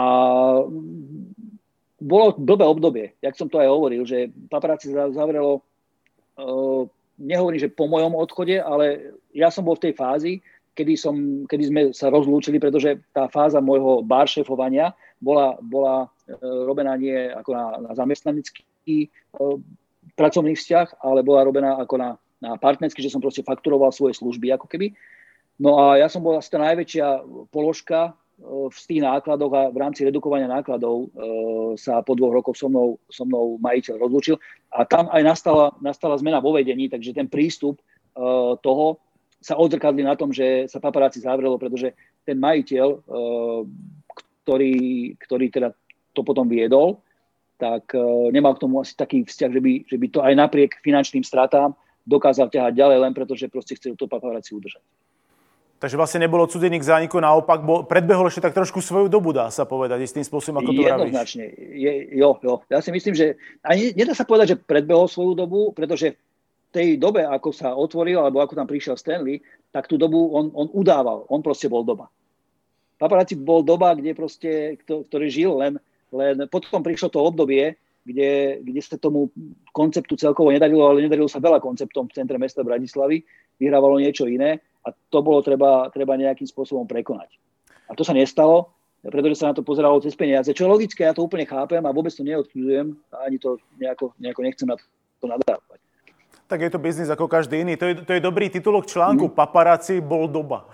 bolo blbé obdobie, jak som to aj hovoril, že paparazzi zavrelo, uh, nehovorím, že po mojom odchode, ale ja som bol v tej fázi, kedy, som, kedy sme sa rozlúčili, pretože tá fáza môjho bar šéfovania bola, bola robená nie ako na, na zamestnanecký e, pracovný vzťah, ale bola robená ako na, na partnerský, že som proste fakturoval svoje služby ako keby. No a ja som bol asi tá najväčšia položka e, v tých nákladoch a v rámci redukovania nákladov e, sa po dvoch rokoch so mnou, so mnou majiteľ rozlúčil. A tam aj nastala, nastala zmena vo vedení, takže ten prístup e, toho sa odzrkadli na tom, že sa paparazzi zavrelo, pretože ten majiteľ, e, ktorý, ktorý teda to potom viedol, tak uh, nemal k tomu asi taký vzťah, že by, že by to aj napriek finančným stratám dokázal ťahať ďalej len preto, že proste chcel to paparazzi udržať. Takže vlastne nebolo odsudený k zániku, naopak bol, predbehol ešte tak trošku svoju dobu, dá sa povedať, istým spôsobom, ako to vravíš. Jednoznačne. Je, jo, jo. Ja si myslím, že ani nedá sa povedať, že predbehol svoju dobu, pretože v tej dobe, ako sa otvoril, alebo ako tam prišiel Stanley, tak tú dobu on, on udával. On proste bol doba. Paparazzi bol doba, kde proste, ktorý žil len, len potom prišlo to obdobie, kde, kde sa tomu konceptu celkovo nedarilo, ale nedarilo sa veľa konceptom v centre mesta Bratislavy. Vyhrávalo niečo iné a to bolo treba, treba nejakým spôsobom prekonať. A to sa nestalo, pretože sa na to pozeralo cez peniaze. Čo je logické, ja to úplne chápem a vôbec to neodsudzujem a ani to nejako, nejako nechcem na to nadávať. Tak je to biznis ako každý iný. To je, to je dobrý titulok článku. Mm. Paparazzi bol doba.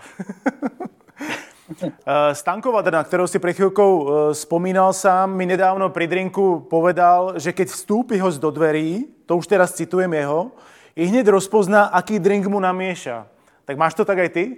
Stanko Vadrna, ktorého si pred chvíľkou spomínal sám, mi nedávno pri drinku povedal, že keď vstúpi host do dverí, to už teraz citujem jeho, i hneď rozpozná, aký drink mu namieša. Tak máš to tak aj ty?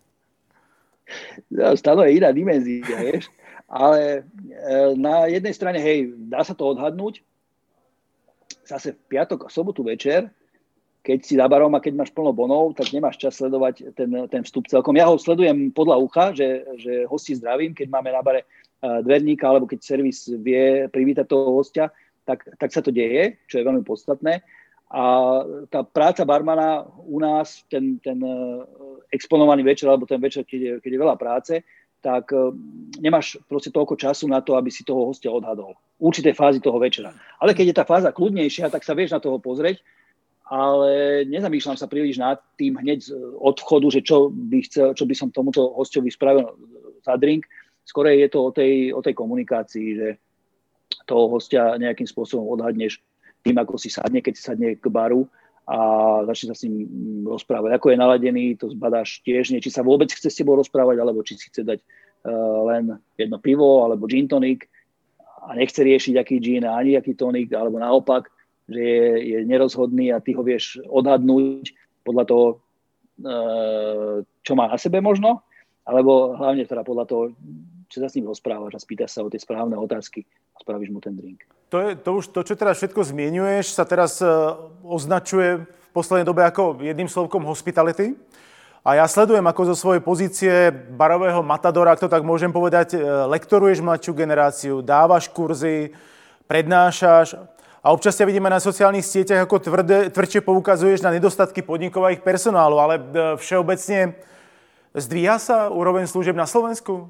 No, Stano je iná dimenzia, vieš. Ale na jednej strane, hej, dá sa to odhadnúť. Zase v piatok a sobotu večer, keď si za barom a keď máš plno bonov, tak nemáš čas sledovať ten, ten vstup celkom. Ja ho sledujem podľa ucha, že, že hosti zdravím, keď máme na bare dverníka, alebo keď servis vie privítať toho hostia, tak, tak sa to deje, čo je veľmi podstatné. A tá práca barmana u nás, ten, ten exponovaný večer, alebo ten večer, keď je, keď je veľa práce, tak nemáš proste toľko času na to, aby si toho hostia odhadol. V určitej fázi toho večera. Ale keď je tá fáza kľudnejšia, tak sa vieš na toho pozrieť, ale nezamýšľam sa príliš nad tým hneď od vchodu, že čo by, chcel, čo by som tomuto hosťovi spravil za drink. Skôr je to o tej, o tej komunikácii, že toho hostia nejakým spôsobom odhadneš tým, ako si sadne, keď si sadne k baru a začne sa s ním rozprávať. Ako je naladený, to zbadáš tiež, nie, či sa vôbec chce s tebou rozprávať, alebo či si chce dať uh, len jedno pivo, alebo gin tonic a nechce riešiť, aký gin a ani aký tonic, alebo naopak, že je, je nerozhodný a ty ho vieš odhadnúť podľa toho, čo má na sebe možno, alebo hlavne teda podľa toho, čo sa s ním rozprávaš a spýtaš sa o tie správne otázky a spravíš mu ten drink. To, je, to už to, čo teraz všetko zmieňuješ, sa teraz označuje v poslednej dobe ako jedným slovkom hospitality. A ja sledujem, ako zo svojej pozície barového matadora, ak to tak môžem povedať, lektoruješ mladšiu generáciu, dávaš kurzy, prednášaš. A občas ťa vidíme na sociálnych sieťach, ako tvrdé, tvrdšie poukazuješ na nedostatky podnikov a ich personálu, ale všeobecne zdvíha sa úroveň služieb na Slovensku?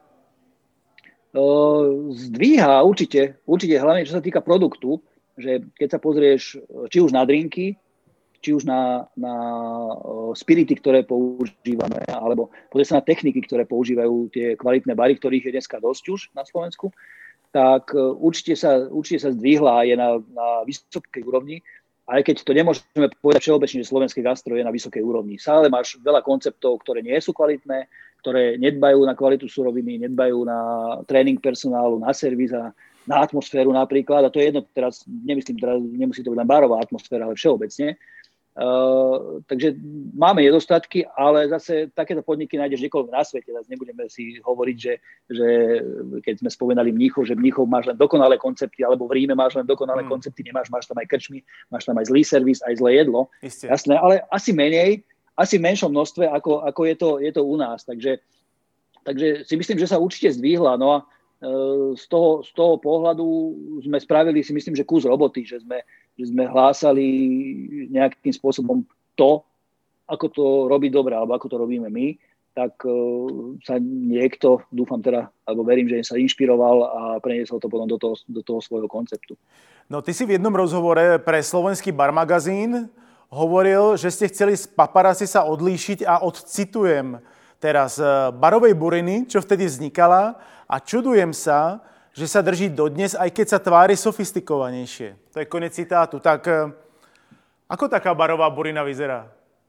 Zdvíha určite, určite hlavne čo sa týka produktu, že keď sa pozrieš či už na drinky, či už na, na spirity, ktoré používame, alebo pozrieš sa na techniky, ktoré používajú tie kvalitné bary, ktorých je dneska dosť už na Slovensku, tak určite sa, určite sa zdvihla a je na, na vysokej úrovni. Aj keď to nemôžeme povedať všeobecne, že slovenské gastro je na vysokej úrovni. Stále máš veľa konceptov, ktoré nie sú kvalitné, ktoré nedbajú na kvalitu suroviny, nedbajú na tréning personálu, na servis a na atmosféru napríklad. A to je jedno, teraz nemyslím, teraz nemusí to byť len barová atmosféra, ale všeobecne. Uh, takže máme nedostatky, ale zase takéto podniky nájdeš niekoľko na svete. Zase nebudeme si hovoriť, že, že keď sme spomenali Mníchov, že Mníchov máš len dokonalé koncepty, alebo v Ríme máš len dokonalé mm. koncepty, nemáš, máš tam aj krčmy, máš tam aj zlý servis, aj zlé jedlo. Isté. Jasné, ale asi menej, asi v menšom množstve, ako, ako je, to, je to u nás. Takže, takže si myslím, že sa určite zdvihla. No a uh, z, toho, z toho pohľadu sme spravili si myslím, že kus roboty, že sme že sme hlásali nejakým spôsobom to, ako to robí dobre, alebo ako to robíme my, tak uh, sa niekto, dúfam teda, alebo verím, že sa inšpiroval a preniesol to potom do toho, do toho svojho konceptu. No ty si v jednom rozhovore pre slovenský bar magazín hovoril, že ste chceli z paparazzi sa odlíšiť a odcitujem teraz barovej buriny, čo vtedy vznikala a čudujem sa, že sa drží dodnes, aj keď sa tvári sofistikovanejšie. To je konec citátu. Tak ako taká barová burina vyzerá?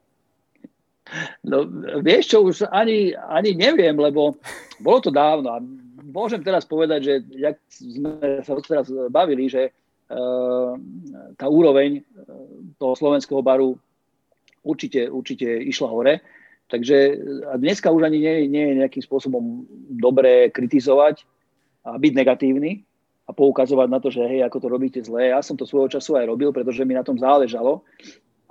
No, vieš čo, už ani, ani neviem, lebo bolo to dávno. A môžem teraz povedať, že jak sme sa teraz bavili, že uh, tá úroveň toho slovenského baru určite, určite išla hore. Takže a dneska už ani nie, nie je nejakým spôsobom dobré kritizovať a byť negatívny a poukazovať na to, že hej, ako to robíte zle. Ja som to svojho času aj robil, pretože mi na tom záležalo.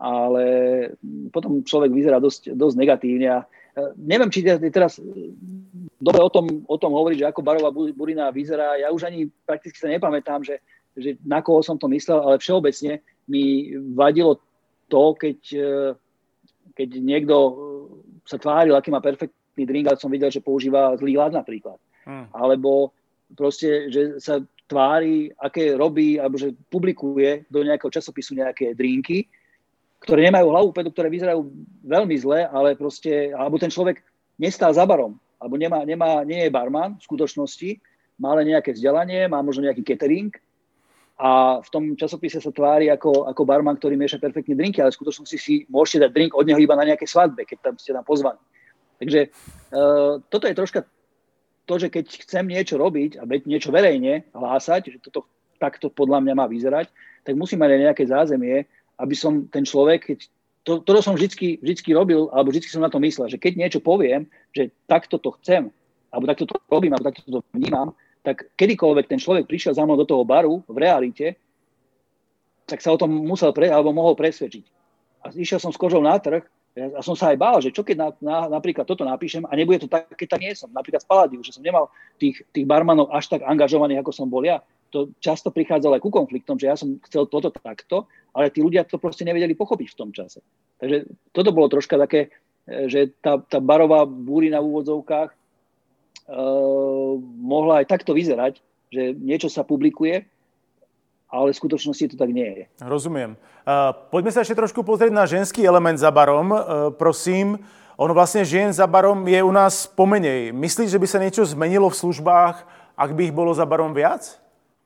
ale potom človek vyzerá dosť, dosť negatívne. A neviem, či teraz dobre o tom, o tom hovoriť, že ako barová burina vyzerá. Ja už ani prakticky sa nepamätám, že, že na koho som to myslel, ale všeobecne mi vadilo to, keď, keď niekto sa tváril, aký má perfektný drink, ale som videl, že používa zlý ľad napríklad. Hmm. Alebo proste, že sa tvári, aké robí, alebo že publikuje do nejakého časopisu nejaké drinky, ktoré nemajú hlavu, pedu, ktoré vyzerajú veľmi zle, ale proste, alebo ten človek nestál za barom, alebo nemá, nemá, nie je barman v skutočnosti, má len nejaké vzdelanie, má možno nejaký catering a v tom časopise sa tvári ako, ako barman, ktorý mieša perfektne drinky, ale v skutočnosti si môžete dať drink od neho iba na nejaké svadbe, keď tam ste tam pozvaní. Takže uh, toto je troška to, že keď chcem niečo robiť a niečo verejne hlásať, že toto takto podľa mňa má vyzerať, tak musím mať aj nejaké zázemie, aby som ten človek, keď to, to som vždycky, vždycky robil, alebo vždycky som na to myslel, že keď niečo poviem, že takto to chcem, alebo takto to robím, alebo takto to vnímam, tak kedykoľvek ten človek prišiel za mnou do toho baru v realite, tak sa o tom musel pre, alebo mohol presvedčiť. A išiel som s kožou na trh a som sa aj bál, že čo keď na, na, napríklad toto napíšem a nebude to tak, keď tak nie som. Napríklad v Palladiu, že som nemal tých, tých barmanov až tak angažovaných, ako som bol ja. To často prichádzalo aj ku konfliktom, že ja som chcel toto takto, ale tí ľudia to proste nevedeli pochopiť v tom čase. Takže toto bolo troška také, že tá, tá barová búrina v úvodzovkách e, mohla aj takto vyzerať, že niečo sa publikuje, ale v skutočnosti to tak nie je. Rozumiem. Uh, poďme sa ešte trošku pozrieť na ženský element za barom. Uh, prosím, ono vlastne žien za barom je u nás pomenej. Myslíš, že by sa niečo zmenilo v službách, ak by ich bolo za barom viac?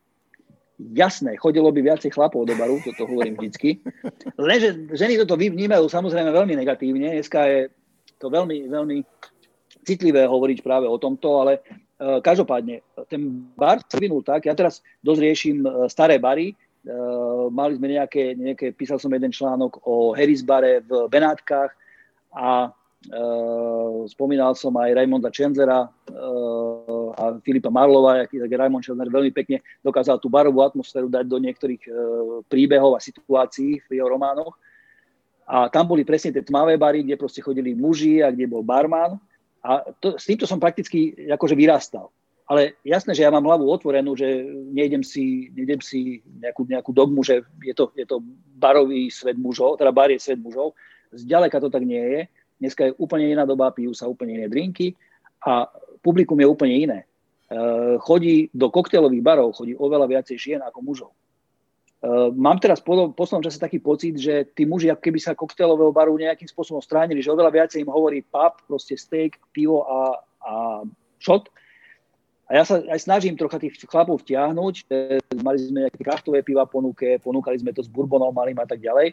Jasné, chodilo by viacej chlapov do baru, toto hovorím vždycky. Lenže ženy toto vnímajú samozrejme veľmi negatívne. Dneska je to veľmi, veľmi citlivé hovoriť práve o tomto, ale uh, každopádne, ten bar sa vyvinul tak, ja teraz dosť riešim uh, staré bary, uh, mali sme nejaké, nejaké, písal som jeden článok o Harris bare v Benátkach a Uh, spomínal som aj Raymonda Chandlera uh, a Filipa Marlova, aký tak Raymond Chandler veľmi pekne dokázal tú barovú atmosféru dať do niektorých uh, príbehov a situácií v jeho románoch. A tam boli presne tie tmavé bary, kde proste chodili muži a kde bol barman. A to, s týmto som prakticky akože vyrastal. Ale jasné, že ja mám hlavu otvorenú, že nejdem si, nejdem si nejakú, nejakú dogmu, že je to, je to barový svet mužov, teda bar je svet mužov. Zďaleka to tak nie je. Dneska je úplne iná doba, pijú sa úplne iné drinky a publikum je úplne iné. E, chodí do koktejlových barov, chodí oveľa viacej žien ako mužov. E, mám teraz po poslednom čase taký pocit, že tí muži, ako keby sa koktejlového baru nejakým spôsobom stránili, že oveľa viacej im hovorí pub, proste steak, pivo a, a shot. A ja sa aj snažím trocha tých chlapov vtiahnuť. E, mali sme nejaké kraftové piva ponuke, ponúkali sme to s bourbonom malým a tak ďalej.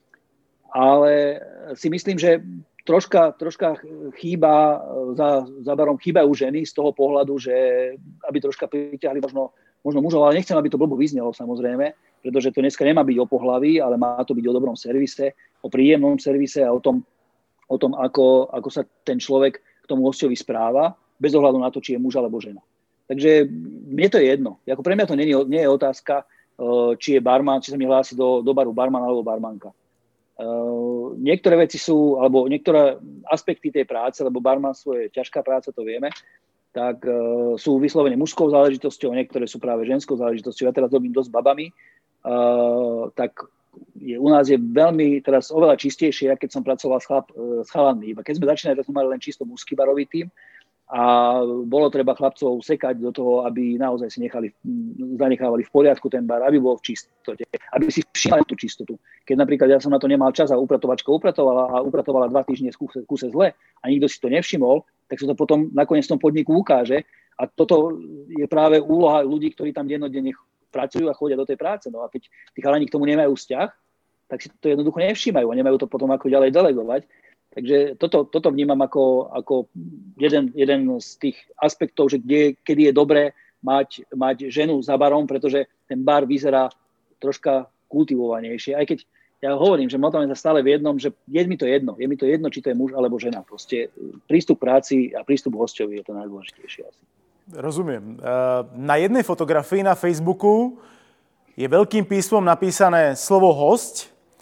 Ale si myslím, že Troška, troška chýba, za, za barom chýbajú ženy z toho pohľadu, že aby troška pritiahli možno, možno mužov, ale nechcem, aby to blbo vyznelo samozrejme, pretože to dneska nemá byť o pohlaví, ale má to byť o dobrom servise, o príjemnom servise a o tom, o tom ako, ako sa ten človek k tomu hosťovi správa, bez ohľadu na to, či je muž alebo žena. Takže mne to je jedno. Ako pre mňa to nie je, nie je otázka, či je barman, či sa mi hlási do, do baru barman alebo barmanka. Uh, niektoré veci sú, alebo niektoré aspekty tej práce, lebo barmanstvo je ťažká práca, to vieme, tak uh, sú vyslovene mužskou záležitosťou, niektoré sú práve ženskou záležitosťou. Ja teraz robím dosť babami, uh, tak je, u nás je veľmi teraz oveľa čistejšie, keď som pracoval s, chlap, uh, s chalanmi. Iba keď sme začínali, tak sme mali len čisto mužský barový tím a bolo treba chlapcov sekať do toho, aby naozaj si nechali, zanechávali v poriadku ten bar, aby bol v čistote, aby si všimali tú čistotu. Keď napríklad ja som na to nemal čas a upratovačka upratovala a upratovala dva týždne v kuse, kuse zle a nikto si to nevšimol, tak sa to potom nakoniec v tom podniku ukáže a toto je práve úloha ľudí, ktorí tam dennodenne pracujú a chodia do tej práce. No a keď tí chalani k tomu nemajú vzťah, tak si to jednoducho nevšímajú a nemajú to potom ako ďalej delegovať. Takže toto, toto vnímam ako, ako jeden, jeden z tých aspektov, že kde, kedy je dobré mať, mať ženu za barom, pretože ten bar vyzerá troška kultivovanejšie. Aj keď ja hovorím, že motáme sa stále v jednom, že je mi to jedno. Je mi to jedno, či to je muž alebo žena. Proste prístup práci a prístup hosťovi je to najdôležitejšie asi. Rozumiem. Na jednej fotografii na Facebooku je veľkým písmom napísané slovo hosť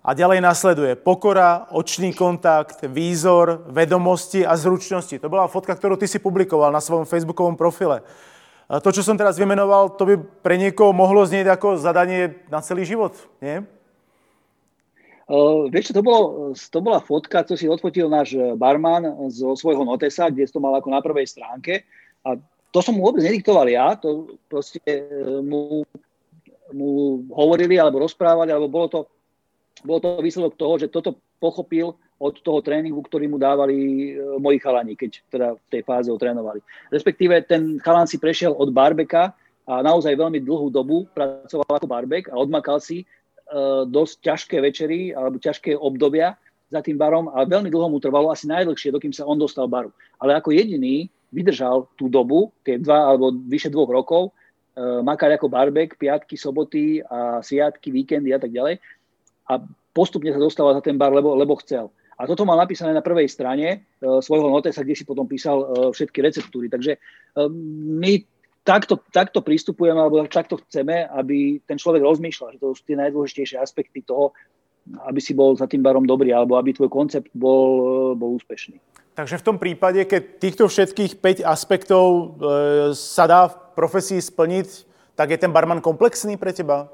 A ďalej nasleduje pokora, očný kontakt, výzor, vedomosti a zručnosti. To bola fotka, ktorú ty si publikoval na svojom facebookovom profile. To, čo som teraz vymenoval, to by pre niekoho mohlo znieť ako zadanie na celý život, nie? Uh, vieš čo, to, bolo, to bola fotka, čo si odfotil náš barman zo svojho notesa, kde to mal ako na prvej stránke. A to som mu vôbec nediktoval ja, to proste mu, mu hovorili, alebo rozprávali, alebo bolo to Bolo to výsledok toho, že toto pochopil od toho tréningu, ktorý mu dávali moji chalani, keď teda v tej fáze ho trénovali. Respektíve ten chalan si prešiel od barbeka a naozaj veľmi dlhú dobu pracoval ako barbek a odmakal si uh, dosť ťažké večery alebo ťažké obdobia za tým barom a veľmi dlho mu trvalo, asi najdlhšie, dokým sa on dostal baru. Ale ako jediný vydržal tú dobu, tie dva alebo vyše dvoch rokov, uh, makať ako barbek, piatky, soboty a sviatky, víkendy a tak ďalej. A postupne sa dostával za ten bar, lebo, lebo chcel. A toto mal napísané na prvej strane e, svojho notesa, kde si potom písal e, všetky receptúry. Takže e, my takto, takto pristupujeme, alebo takto chceme, aby ten človek rozmýšľal, že to sú tie najdôležitejšie aspekty toho, aby si bol za tým barom dobrý, alebo aby tvoj koncept bol, e, bol úspešný. Takže v tom prípade, keď týchto všetkých päť aspektov e, sa dá v profesii splniť, tak je ten barman komplexný pre teba?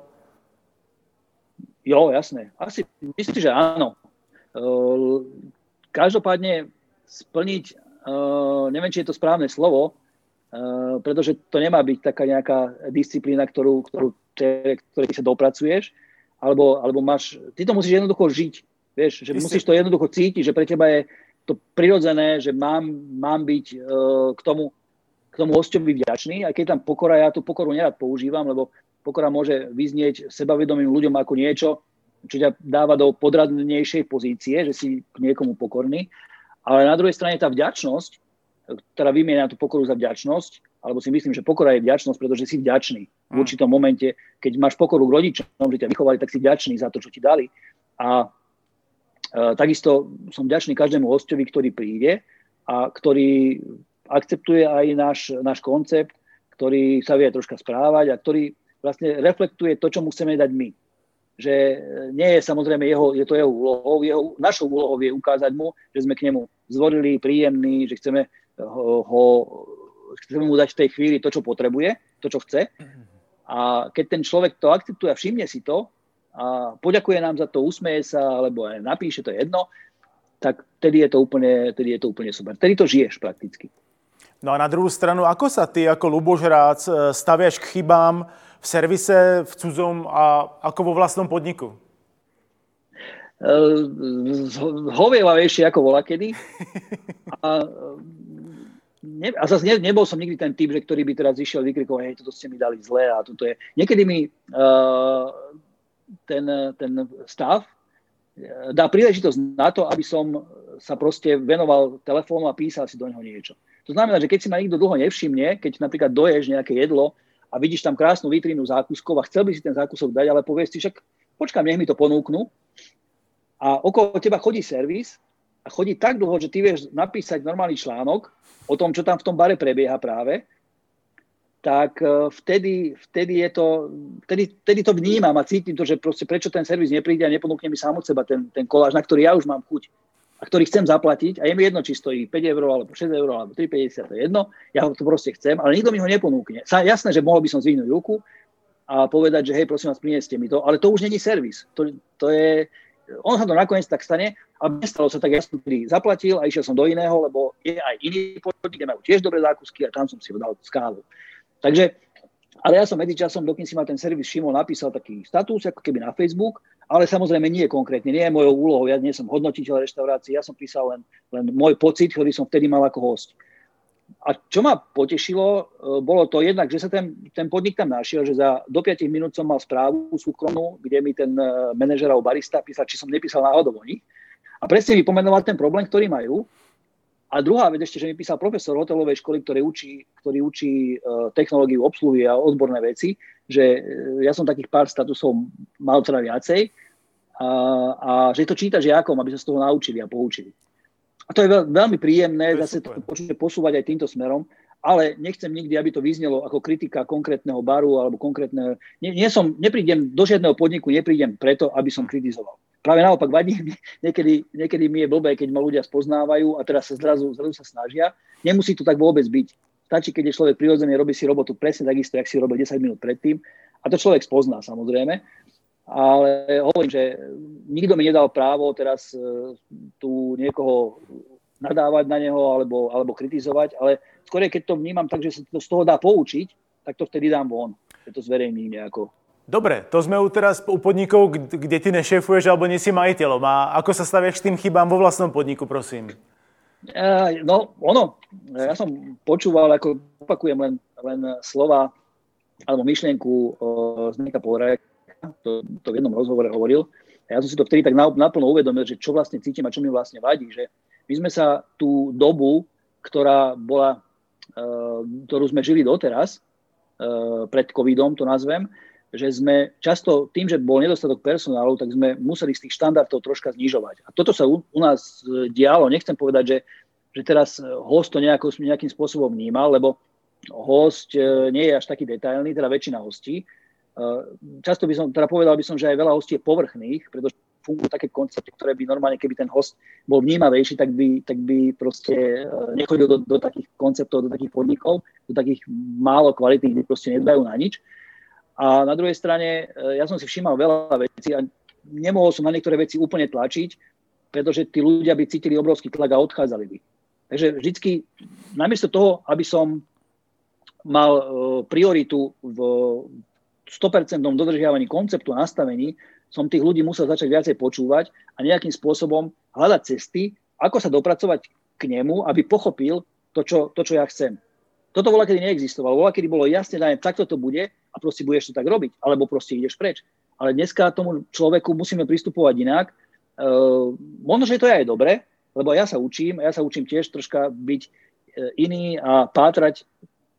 Jo, jasné. Asi myslím, že áno. Uh, každopádne splniť, uh, neviem, či je to správne slovo, uh, pretože to nemá byť taká nejaká disciplína, ktorú, ktorú te, ktorej sa dopracuješ, alebo, alebo máš, ty to musíš jednoducho žiť, vieš, že musíš to jednoducho cítiť, že pre teba je to prirodzené, že mám, mám byť uh, k tomu, k tomu hosťovi vďačný, aj keď tam pokora, ja tú pokoru nerad používam, lebo pokora môže vyznieť sebavedomým ľuďom ako niečo, čo ťa dáva do podradnejšej pozície, že si k niekomu pokorný. Ale na druhej strane tá vďačnosť, ktorá vymieňa tú pokoru za vďačnosť, alebo si myslím, že pokora je vďačnosť, pretože si vďačný v určitom momente, keď máš pokoru k rodičom, že ťa vychovali, tak si vďačný za to, čo ti dali. A e, takisto som vďačný každému hosťovi, ktorý príde a ktorý akceptuje aj náš, náš koncept, ktorý sa vie troška správať a ktorý vlastne reflektuje to, čo mu chceme dať my. Že nie je samozrejme jeho, je to jeho úlohou, jeho, našou úlohou je ukázať mu, že sme k nemu zvorili, príjemní, že chceme ho, ho chceme mu dať v tej chvíli to, čo potrebuje, to, čo chce. A keď ten človek to akceptuje a všimne si to a poďakuje nám za to, usmeje sa, alebo aj napíše, to je jedno, tak vtedy je to úplne, vtedy je to úplne super. Vtedy to žiješ prakticky. No a na druhú stranu, ako sa ty ako Ľuboš Rác staviaš k chybám v servise, v cudzom a ako vo vlastnom podniku? Hovievavejšie ako volakedy. A, ne, a zase ne, nebol som nikdy ten typ, že ktorý by teraz išiel vykrikovať, hej, toto ste mi dali zle a toto je. Niekedy mi uh, ten, ten stav dá príležitosť na to, aby som sa proste venoval telefónu a písal si do neho niečo. To znamená, že keď si ma nikto dlho nevšimne, keď napríklad doješ nejaké jedlo a vidíš tam krásnu vitrínu zákuskov a chcel by si ten zákusok dať, ale povieš si, však počkám, nech mi to ponúknú. A okolo teba chodí servis a chodí tak dlho, že ty vieš napísať normálny článok o tom, čo tam v tom bare prebieha práve, tak vtedy, vtedy, je to, vtedy, vtedy to vnímam a cítim to, že proste prečo ten servis nepríde a neponúkne mi sám od seba ten, ten koláž, na ktorý ja už mám chuť a ktorý chcem zaplatiť a je mi jedno, či stojí päť eur, alebo šesť eur, alebo tri päťdesiat, to je jedno, ja ho to proste chcem, ale nikto mi ho neponúkne. Jasné, že mohol by som zvihnúť ruku a povedať, že hej, prosím vás, prinieste mi to, ale to už není servis. To, to je, on sa to nakoniec tak stane, ale nestalo sa tak, ja som tedy zaplatil a išiel som do iného, lebo je aj iný podnik, kde majú tiež dobré zákusky a tam som si ho dal skálu. Takže, ale ja som medzičasom, dokým si ma ten servis všimol, napísal taký status, ako keby na Facebook, ale samozrejme nie konkrétne, nie je mojou úlohou, ja nie som hodnotiteľ reštaurácie, ja som písal len, len môj pocit, ktorý som vtedy mal ako host. A čo ma potešilo, bolo to jednak, že sa ten, ten podnik tam našiel, že za do päť minút som mal správu súkromnú, kde mi ten manažer alebo barista písal, či som nepísal náhodou o nich. A presne mi pomenoval ten problém, ktorý majú. A druhá vec ešte, že mi písal profesor hotelovej školy, ktorý učí, ktorý učí uh, technológiu obsluhy a odborné veci, že uh, ja som takých pár statusov mal teda viacej a, a že to číta žiakom, aby sa z toho naučili a poučili. A to je veľ, veľmi príjemné to zase to počuť posúvať aj týmto smerom, ale nechcem nikdy, aby to vyznelo ako kritika konkrétneho baru alebo konkrétneho... Nie, nie som, neprídem do žiadneho podniku, neprídem preto, aby som kritizoval. práve naopak vadí, niekedy, niekedy mi je blbé, keď ma ľudia spoznávajú a teraz sa zrazu, zrazu sa snažia. Nemusí to tak vôbec byť. Stačí, keď je človek prirodzený, robí si robotu presne takisto, jak si robil desať minút predtým. A to človek spozná, samozrejme. Ale hovorím, že nikto mi nedal právo teraz tu niekoho nadávať na neho alebo, alebo kritizovať, ale skôr keď to vnímam tak, že sa to z toho dá poučiť, tak to vtedy dám von. Že to zverejním nejako. Dobre, to sme u teraz u podnikov, kde ty nešéfuješ alebo nie si majiteľom. A ako sa staviaš k tým chybám vo vlastnom podniku, prosím? Uh, no, ono. Ja som počúval, ako opakujem len, len slova alebo myšlienku uh, Zdeňka Poľajka, to, to v jednom rozhovore hovoril. A ja som si to vtedy tak naplno uvedomil, že čo vlastne cítim a čo mi vlastne vadí. Že my sme sa tú dobu, ktorá bola, uh, ktorú sme žili doteraz, uh, pred covidom to nazvem, že sme často tým, že bol nedostatok personálu, tak sme museli z tých štandardov troška znižovať. A toto sa u, u nás dialo. Nechcem povedať, že, že teraz host to nejako, nejakým spôsobom vnímal, lebo host nie je až taký detailný, teda väčšina hostí. Často by som, teda povedal by som, že aj veľa hostí je povrchných, pretože fungujú také koncepty, ktoré by normálne, keby ten host bol vnímavejší, tak by, tak by proste nechodil do, do takých konceptov, do takých podnikov, do takých málo kvalitných, kde proste nedbajú na nič. A na druhej strane, ja som si všímal veľa vecí a nemohol som na niektoré veci úplne tlačiť, pretože tí ľudia by cítili obrovský tlak a odchádzali by. Takže vždycky, namiesto toho, aby som mal prioritu v sto percent dodržiavaní konceptu a nastavení, som tých ľudí musel začať viacej počúvať a nejakým spôsobom hľadať cesty, ako sa dopracovať k nemu, aby pochopil to, čo, to, čo ja chcem. Toto voľakedy neexistovalo. Voľakedy bolo jasne dané, takto to bude a proste budeš to tak robiť, alebo proste ideš preč. Ale dneska tomu človeku musíme pristupovať inak. E, možno, že to je aj dobre, lebo ja sa učím, ja sa učím tiež troška byť iný a pátrať, e,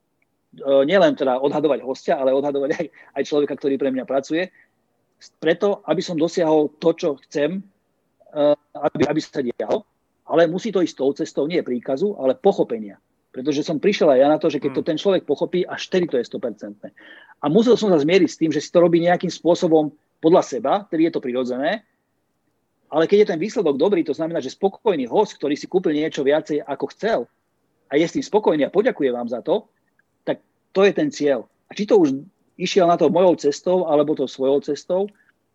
nielen teda odhadovať hostia, ale odhadovať aj, aj človeka, ktorý pre mňa pracuje, preto, aby som dosiahol to, čo chcem, e, aby, aby sa dialo, ale musí to ísť tou cestou, nie príkazu, ale pochopenia. Pretože som prišiel aj ja na to, že keď to ten človek pochopí, až vtedy to je sto percent. A musel som sa zmieriť s tým, že si to robí nejakým spôsobom podľa seba, tedy je to prirodzené, ale keď je ten výsledok dobrý, to znamená, že spokojný host, ktorý si kúpil niečo viacej ako chcel a je s tým spokojný a poďakuje vám za to, tak to je ten cieľ. A či to už išiel na to mojou cestou alebo to svojou cestou,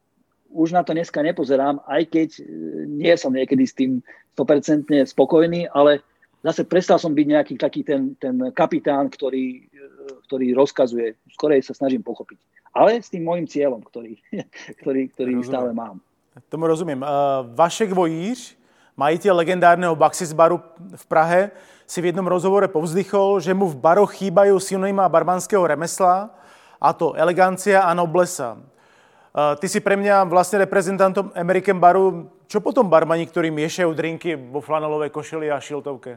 už na to dneska nepozerám, aj keď nie som niekedy s tým sto percent spokojný, ale zase prestal som byť nejaký taký ten, ten kapitán, ktorý, ktorý rozkazuje. Skorej sa snažím pochopiť. Ale s tým môjim cieľom, ktorý, ktorý, ktorý stále mám. Tomu rozumím. Vašek Vojíř, majitel legendárneho Baxis baru v Prahe, si v jednom rozhovore povzdychol, že mu v baroch chýbajú synonyma barmanského remesla, a to elegancia a noblesa. Ty si pre mňa vlastne reprezentantom American baru. Čo potom barmani, ktorí miešajú drinky vo flanelovej košeli a šiltovke?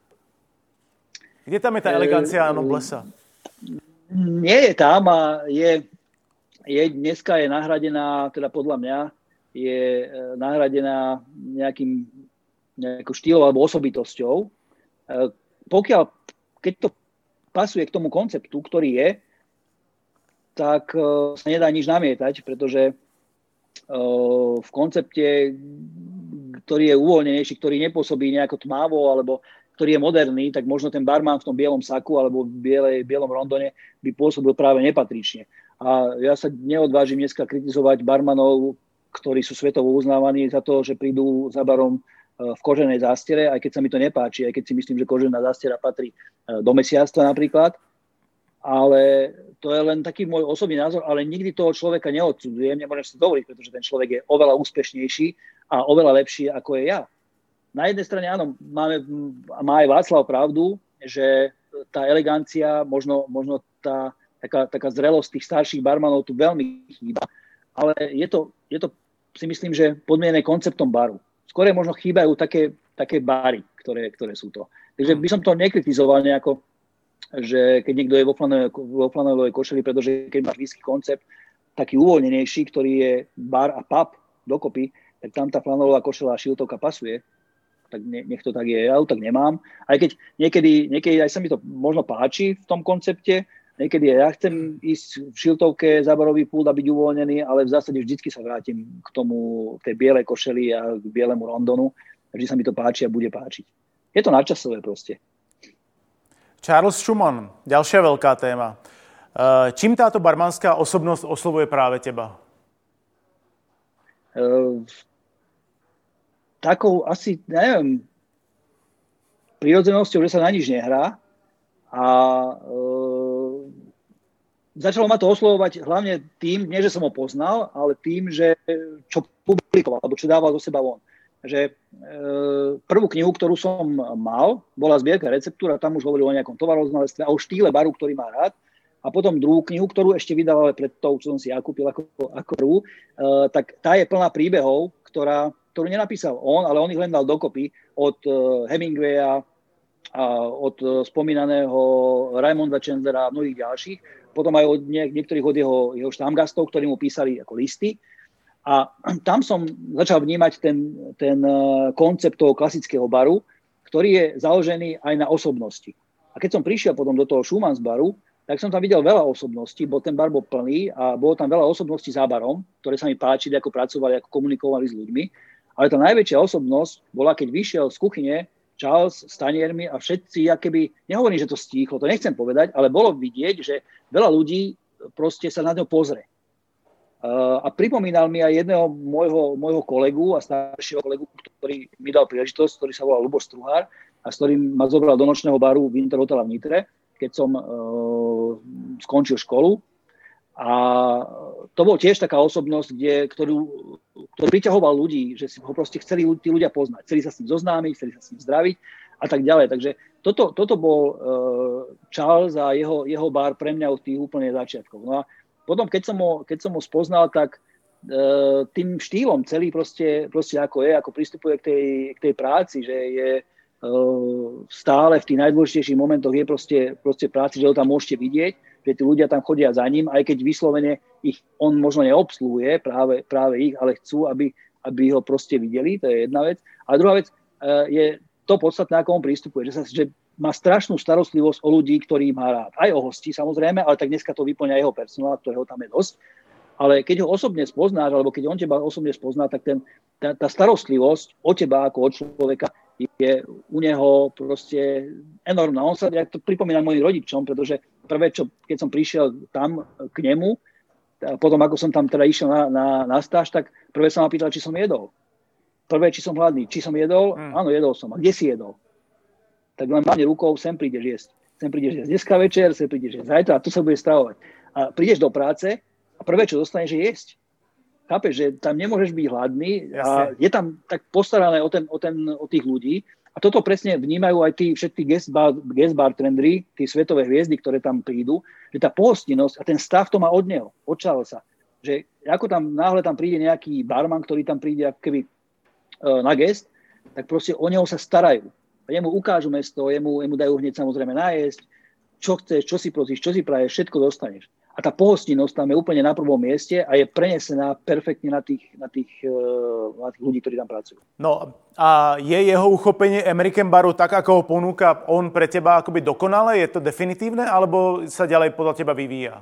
Kde tam je tá elegancia a noblesa? Nie je tam a je, je dneska je nahradená, teda podľa mňa, je nahradená nejakým, nejakou štýlou alebo osobitosťou. Pokiaľ, keď to pasuje k tomu konceptu, ktorý je, tak sa nedá nič namietať, pretože v koncepte, ktorý je uvoľnenejší, ktorý nepôsobí nejako tmavo, alebo ktorý je moderný, tak možno ten barman v tom bielom saku alebo v bielej, bielom rondone by pôsobil práve nepatrične. A ja sa neodvážim dneska kritizovať barmanov, ktorí sú svetovo uznávaní za to, že prídu za barom v koženej zástiere, aj keď sa mi to nepáči, aj keď si myslím, že kožená zástiera patrí do mesiarstva napríklad. Ale to je len taký môj osobný názor, ale nikdy toho človeka neodsudzujem, nemôžem si to dovoliť, pretože ten človek je oveľa úspešnejší a oveľa lepší, ako je ja. Na jednej strane áno, máme, má aj Václav pravdu, že tá elegancia, možno, možno tá taká, taká zrelosť tých starších barmanov tu veľmi chýba, ale je to, je to si myslím, že podmienené konceptom baru. Skôr možno chýbajú také, také bary, ktoré, ktoré sú to. Takže by som to nekritizoval nejako, že keď niekto je vo flanelovej košeli, pretože keď máš whisky koncept taký uvoľnenejší, ktorý je bar a pub dokopy, tak tam tá flanelová košela a šiltovka pasuje, tak nech to tak je, ja to tak nemám. Aj keď niekedy, niekedy aj sa mi to možno páči v tom koncepte, Niekedy ja chcem ísť v šiltovke za barový pult a byť uvoľnený, ale v zásade vždycky sa vrátim k tomu, k tej bielej košeli a k bielemu rondonu. Vždy sa mi to páči a bude páčiť. Je to nadčasové proste. Charles Schumann, ďalšia veľká téma. Čím táto barmanská osobnosť oslovuje práve teba? Uh, takou asi, neviem, prirodzenosťou, že sa na nič nehrá a uh, začalo ma to oslovovať hlavne tým, nie že som ho poznal, ale tým, že čo publikoval, alebo čo dával do seba von. Že e, prvú knihu, ktorú som mal, bola zbierka receptúr a tam už hovoril o nejakom tovaroznalectve a o štýle baru, ktorý má rád. A potom druhú knihu, ktorú ešte vydal, ale pred tou, čo som si ja kúpil ako, ako prvú, e, tak tá je plná príbehov, ktorá, ktorú nenapísal on, ale on ich len dal dokopy od e, Hemingwaya a od e, spomínaného Raimonda Chandlera a mnohých ďalších. Potom aj od niek- niektorých od jeho, jeho štámgastov, ktorí mu písali ako listy. A tam som začal vnímať ten, ten koncept toho klasického baru, ktorý je založený aj na osobnosti. A keď som prišiel potom do toho Schumanns baru, tak som tam videl veľa osobností, bo ten bar bol plný a bolo tam veľa osobností za barom, ktoré sa mi páčili, ako pracovali, ako komunikovali s ľuďmi. Ale tá najväčšia osobnosť bola, keď vyšiel z kuchyne Charles s taniermi a všetci, akoby, nehovorím, že to stíchlo, to nechcem povedať, ale bolo vidieť, že veľa ľudí proste sa na ňo pozrie. Uh, a pripomínal mi aj jedného môjho, môjho kolegu a staršieho kolegu, ktorý mi dal príležitosť, ktorý sa volal Ľuboš Struhár a s ktorým ma zobral do nočného baru Winter Hotela v Nitre, keď som uh, skončil školu. A to bol tiež taká osobnosť, kde, ktorú, ktorú priťahoval ľudí, že si ho proste chceli tí ľudia poznať, chceli sa s ním zoznámiť, chceli sa s ním zdraviť a tak ďalej. Takže toto, toto bol uh, Charles a jeho, jeho bar pre mňa od tých úplne začiatkov. No a potom, keď som ho, keď som ho spoznal, tak e, tým štýlom celý proste, proste ako je, ako pristupuje k tej, k tej práci, že je e, stále v tých najdôležitejších momentoch je proste, proste práci, že ho tam môžete vidieť, že tí ľudia tam chodia za ním, aj keď vyslovene ich on možno neobsluhuje, práve, práve ich, ale chcú, aby, aby ho proste videli, to je jedna vec. A druhá vec e, je to podstatné, ako on pristupuje, že sa že má strašnú starostlivosť o ľudí, ktorý má rád. Aj o hostí, samozrejme, ale tak dneska to vyplňa jeho personál, ktorého tam je dosť. Ale keď ho osobne spoznáš, alebo keď on teba osobne spozná, tak ten, tá, tá starostlivosť o teba ako od človeka je u neho proste enormná. On sa, ja to pripomínam mojim rodičom, pretože prvé, čo, keď som prišiel tam k nemu, a potom ako som tam teda išiel na, na, na stáž, tak prvé sa ma pýtal, či som jedol. Prvé, či som hladný. Či som jedol? Mm. Áno, jedol som. A kde si jedol? Tak len mávne rukou, sem prídeš jesť. Sem prídeš jesť dneska večer, sem prídeš jesť zajtra a tu sa bude stravovať. A prídeš do práce a prvé, čo dostaneš, je jesť. Chápeš, že tam nemôžeš byť hladný a je tam tak postarané o, ten, o, ten, o tých ľudí. A toto presne vnímajú aj tí všetky guest bar, guest bartenderi, tí svetové hviezdy, ktoré tam prídu, že tá pohostinnosť a ten stav to má od neho, od Charlesa. Že ako tam náhle tam príde nejaký barman, ktorý tam príde ako keby uh, na guest, tak proste o neho sa starajú. A jemu ukážu mesto, jemu, jemu dajú hneď samozrejme nájsť, čo chceš, čo si prosíš, čo si praješ, všetko dostaneš. A tá pohostinnosť tam je úplne na prvom mieste a je prenesená perfektne na tých, na tých, na tých ľudí, ktorí tam pracujú. No a je jeho uchopenie American baru tak, ako ho ponúka on pre teba akoby dokonale? Je to definitívne, alebo sa ďalej podľa teba vyvíja?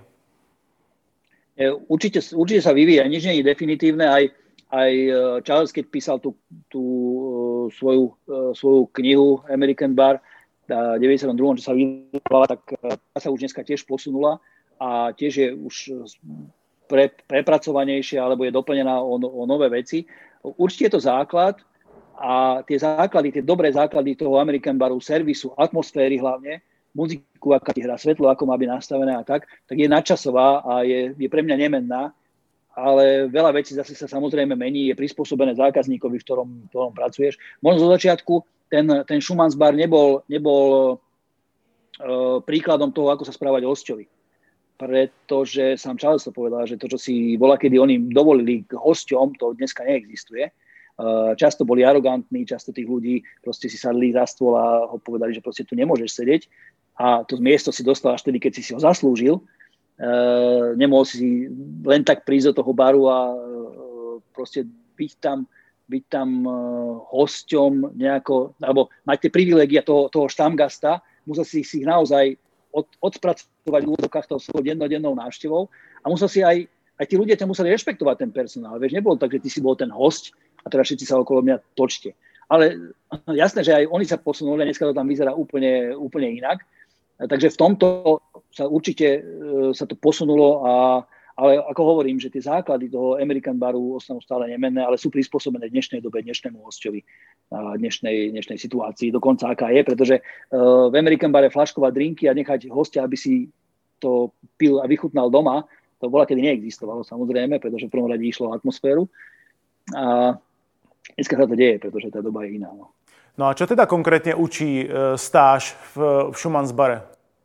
Určite, určite sa vyvíja, nič nie je definitívne. Aj, aj Charles, keď písal tú, tú svoju, svoju knihu American bar v deväťdesiatom druhom, čo sa vydala, tak tá sa už dneska tiež posunula a tiež je už pre, prepracovanejšia alebo je doplnená o, o nové veci. Určite je to základ a tie základy, tie dobré základy toho American baru, servisu, atmosféry hlavne, muziku, aká ti hrá svetlo, ako má byť nastavené a tak, tak je nadčasová a je, je pre mňa nemenná. Ale veľa vecí zase sa samozrejme mení, je prispôsobené zákazníkovi, v ktorom, v ktorom pracuješ. Možno zo začiatku ten, ten Schumanns bar nebol, nebol uh, príkladom toho, ako sa správať hosťovi. Pretože sám Charles to povedal, že to, čo si bola, kedy oni dovolili k hosťom, to dneska neexistuje. Uh, často boli arogantní, často tých ľudí proste si sadli za stôl a ho povedali, že proste tu nemôžeš sedieť. A to miesto si dostal až tedy, keď si si ho zaslúžil. Uh, nemohol si len tak prísť do toho baru a uh, proste byť tam, byť tam uh, hosťom nejako, alebo mať tie privilégia toho, toho štamgasta, musel si, si ich naozaj od, odpracovať kompenzovať v úvodokách tou svojou dennodennou návštevou a musel si aj, aj tí ľudia ťa museli rešpektovať ten personál. Vieš, nebolo tak, že ty si bol ten host a teraz všetci sa okolo mňa točte. Ale jasné, že aj oni sa posunuli a dneska to tam vyzerá úplne, úplne inak. Takže v tomto sa určite sa to posunulo, a, ale ako hovorím, že tie základy toho American baru ostanú stále nemenné, ale sú prispôsobené dnešnej dobe, dnešnému hosťovi, dnešnej, dnešnej situácii, dokonca aká je, pretože v American bare flaškovať drinky a nechať hostia, aby si to pil a vychutnal doma, to bola kedy neexistovalo samozrejme, pretože v prvom rade išlo o atmosféru. A dneska sa to deje, pretože tá doba je iná. No. No a čo teda konkrétne učí e, stáž v, v Schumann's bare?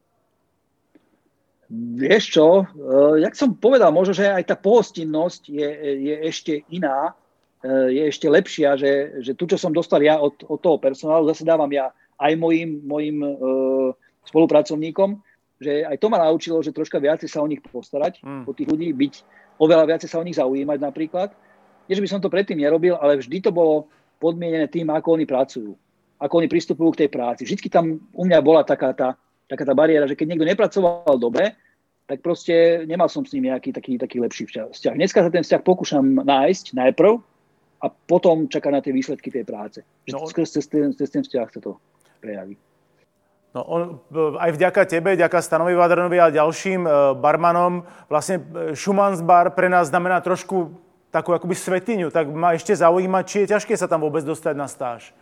Vieš čo, e, jak som povedal, možno, že aj tá pohostinnosť je, je ešte iná, e, je ešte lepšia, že, že tu, čo som dostal ja od, od toho personálu, zase dávam ja aj mojim, mojim e, spolupracovníkom, že aj to ma naučilo, že troška viacej sa o nich postarať, mm. o tých ľudí, byť oveľa viacej sa o nich zaujímať napríklad. Nie, že by som to predtým nerobil, ale vždy to bolo podmienené tým, ako oni pracujú, ako oni pristupujú k tej práci. Vždycky tam u mňa bola taká tá, taká tá bariéra, že keď niekto nepracoval dobre, tak proste nemal som s ním nejaký taký, taký lepší vzťah. Dneska sa ten vzťah pokúšam nájsť najprv a potom čakať na tie výsledky tej práce. No, cez, cez, ten, cez ten vzťah sa to prejaví. No on, aj vďaka tebe, vďaka Stanovi Vadranovi a ďalším barmanom, vlastne Schumann's bar pre nás znamená trošku takú akoby svetiňu, tak ma ešte zaujíma, či je ťažké sa tam vôbec dostať na stáž.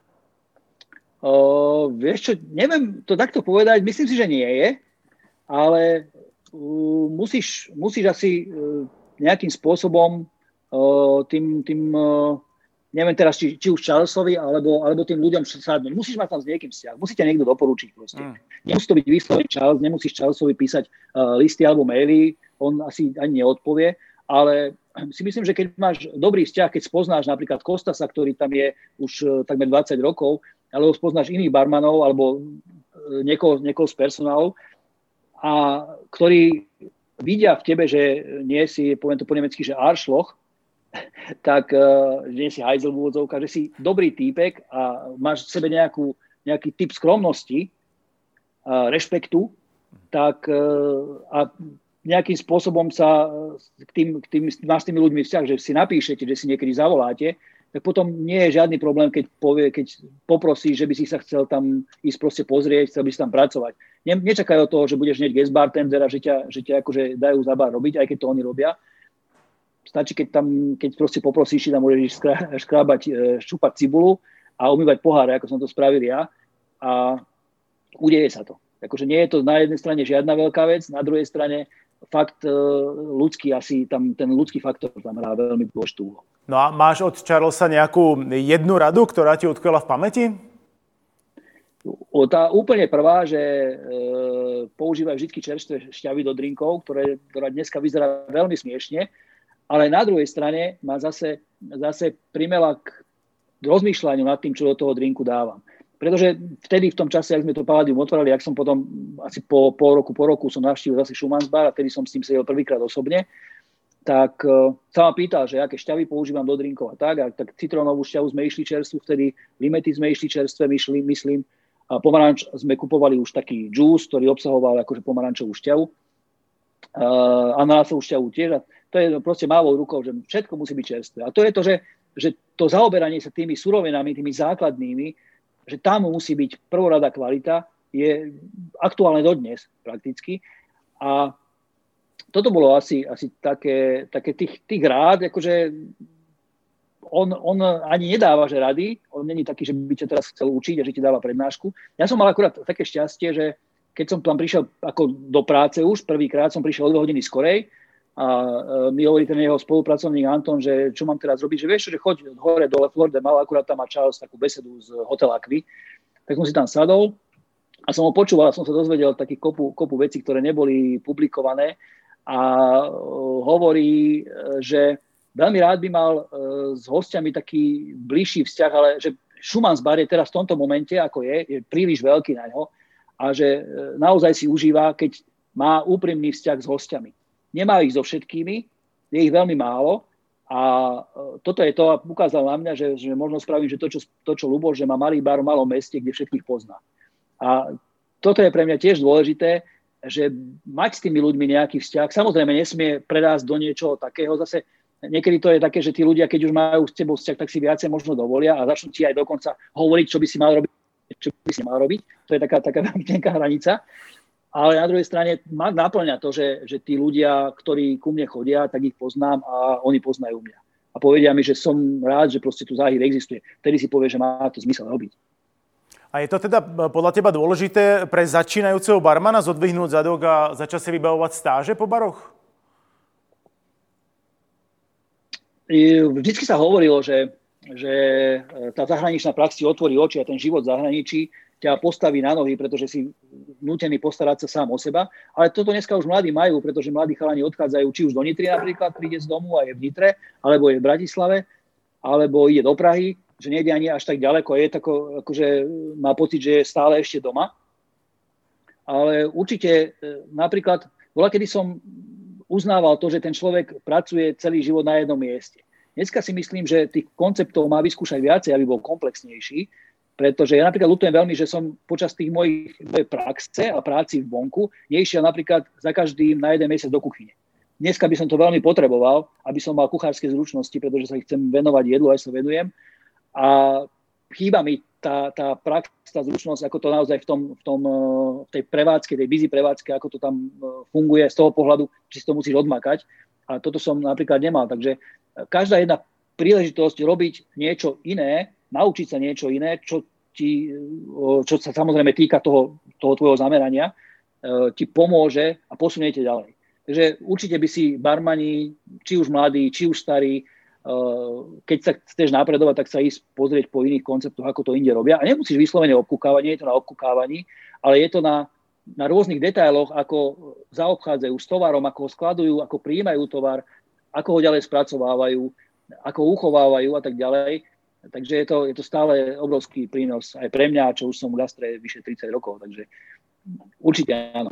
Uh, vieš čo, neviem to takto povedať, myslím si, že nie je, ale uh, musíš, musíš asi uh, nejakým spôsobom uh, tým, tým uh, neviem teraz, či, či už Charlesovi, alebo, alebo tým ľuďom sadnúť. Musíš mať tam s niekým vzťah, musí ťa niekto doporučiť proste. Mm. Nemusí to byť vyslovene Charles, nemusíš Charlesovi písať uh, listy alebo maily, on asi ani neodpovie, ale si myslím, že keď máš dobrý vzťah, keď spoznáš napríklad Kostasa, ktorý tam je už takmer dvadsať rokov, alebo spoznáš iných barmanov, alebo niekoho, niekoho z personálu, a ktorí vidia v tebe, že nie si, poviem to po nemecky, že Arschloch, tak že nie si hajzel v úvodzovkách, že si dobrý týpek a máš v sebe nejakú, nejaký typ skromnosti, a rešpektu, tak a nejakým spôsobom sa k tým, k tým, máš s tými ľuďmi vzťah, že si napíšete, že si niekedy zavoláte, tak potom nie je žiadny problém, keď, povie, keď poprosí, že by si sa chcel tam ísť proste pozrieť, chcel by si tam pracovať. Ne, nečakaj od toho, že budeš hneď guest bartender a že ťa, že ťa akože dajú za bar robiť, aj keď to oni robia. Stačí, keď tam, keď proste poprosíš, tam môžeš škrábať, ščúpať cibulu a umývať poháre, ako som to spravil ja, a udeje sa to. Akože nie je to na jednej strane žiadna veľká vec, na druhej strane fakt ľudský, asi tam ten ľudský faktor tam hrá veľmi dôležitú úlohu. No a máš od Charlesa nejakú jednu radu, ktorá ti utkvela v pamäti? Tá úplne prvá, že e, používaj vždy čerstvé šťavy do drinkov, ktoré, ktorá dneska vyzerá veľmi smiešne, ale na druhej strane ma zase, zase primela k rozmýšľaniu nad tým, čo do toho drinku dávam. Pretože vtedy v tom čase, ak sme to Palladium otvorili, ak som potom asi po pol roku, po roku som navštívil zase Schumann's bar a vtedy som s tým sedel prvýkrát osobne, tak uh, sa ma pýtal, že aké šťavy používam do drinkov a tak. A tak citrónovú šťavu sme išli čerstvu, vtedy limety sme išli čerstve, myšli, myslím. A pomaranč sme kupovali už taký džús, ktorý obsahoval akože pomarančovú šťavu. Uh, ananásovú šťavu tiež. A to je proste mávou rukou, že všetko musí byť čerstvé. A to je to, že, že to zaoberanie sa tými surovinami, tými základnými, že tam musí byť prvorada kvalita, je aktuálne dodnes prakticky. A toto bolo asi, asi také, také tých, tých rád, akože on, on ani nedáva, že rady, on není taký, že by ťa teraz chcel učiť a že ti dáva prednášku. Ja som mal akurát také šťastie, že keď som tam prišiel ako do práce už, prvýkrát som prišiel o dve hodiny skorej a mi hovorí ten jeho spolupracovník Anton, že čo mám teraz robiť, že vieš, že choď hore dole Florde, mal akurát tam má Charles takú besedu z Hotel Aqui, tak som si tam sadol a som ho počúval, som sa dozvedel takých kopu, kopu vecí, ktoré neboli publikované a hovorí, že veľmi rád by mal s hostiami taký bližší vzťah, ale že Schumann's bar je teraz v tomto momente, ako je, je príliš veľký na ňo a že naozaj si užíva, keď má úprimný vzťah s hostiami. Nemá ich so všetkými, je ich veľmi málo a toto je to, a ukázal na mňa, že, že možno spravím, že to, čo, to, čo Ľuboš, že má malý bar v malom meste, kde všetkých pozná. A toto je pre mňa tiež dôležité, že mať s tými ľuďmi nejaký vzťah, samozrejme nesmie predásť do niečoho takého, zase niekedy to je také, že tí ľudia, keď už majú s tebou vzťah, tak si viacej možno dovolia a začnú ti aj dokonca hovoriť, čo by si mal robiť, čo by si mal robiť. To je taká, taká veľmi tenká hranica. Ale na druhej strane ma naplňa to, že, že tí ľudia, ktorí ku mne chodia, tak ich poznám a oni poznajú mňa. A povedia mi, že som rád, že proste tu Záhir existuje. Vtedy si povie, že má to zmysel robiť. A je to teda podľa teba dôležité pre začínajúceho barmana zodvihnúť zadok a začať si vybavovať stáže po baroch? Vždycky sa hovorilo, že, že tá zahraničná prax ti otvorí oči a ten život v zahraničí ťa postaví na nohy, pretože si nútený postarať sa sám o seba. Ale toto dneska už mladí majú, pretože mladí chalani odchádzajú či už do Nitry napríklad, príde z domu a je v Nitre, alebo je v Bratislave, alebo ide do Prahy, že nejde ani až tak ďaleko. Je tako, akože má pocit, že je stále ešte doma. Ale určite napríklad, bola kedy som uznával to, že ten človek pracuje celý život na jednom mieste. Dneska si myslím, že tých konceptov má vyskúšať viacej, aby bol komplexnejší. Pretože ja napríklad ľutujem veľmi, že som počas tých mojich mojej praxe a práci v vonku nešiel napríklad za každým na jeden mesiac do kuchyne. Dneska by som to veľmi potreboval, aby som mal kuchárske zručnosti, pretože sa chcem venovať jedlu, aj sa venujem. A chýba mi tá, tá prax, tá zručnosť, ako to naozaj v, tom, v, tom, v tej prevádzke, tej busy prevádzke, ako to tam funguje z toho pohľadu, či si to musíš odmakať. A toto som napríklad nemal. Takže každá jedna príležitosť robiť niečo iné, naučiť sa niečo iné, čo, ti, čo sa samozrejme týka toho, toho tvojho zamerania, ti pomôže a posuniete ďalej. Takže určite by si barmani, či už mladí, či už starí, keď sa chceš napredovať, tak sa ísť pozrieť po iných konceptoch, ako to inde robia. A nemusíš vyslovene obkúkávať, nie je to na obkúkávaní, ale je to na, na rôznych detailoch, ako zaobchádzajú s tovarom, ako ho skladujú, ako prijímajú tovar, ako ho ďalej spracovávajú, ako uchovávajú a tak ďalej. Takže je to, je to stále obrovský prínos aj pre mňa, čo už som v gastre vyše tridsať rokov, takže určite áno.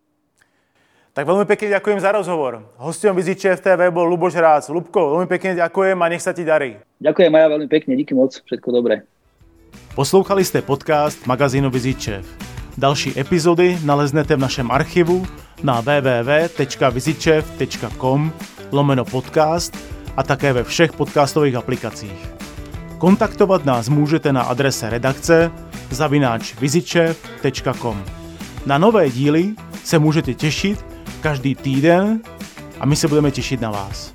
Tak veľmi pekne ďakujem za rozhovor. Hosťom VizitChef té vé bol Ľuboš Rác. Ľubko, veľmi pekne ďakujem a nech sa ti darí. Ďakujem aj ja veľmi pekne, díky moc, všetko dobré. Poslouchali ste podcast magazínu VizitChef. Další epizody naleznete v našem archivu na w w w tečka vizitchef tečka com lomeno podcast a také ve všech podcastových aplikacích. Kontaktovat nás můžete na adrese redakce zavináč vizitchef tečka com. Na nové díly se můžete těšit každý týden a my se budeme těšit na vás.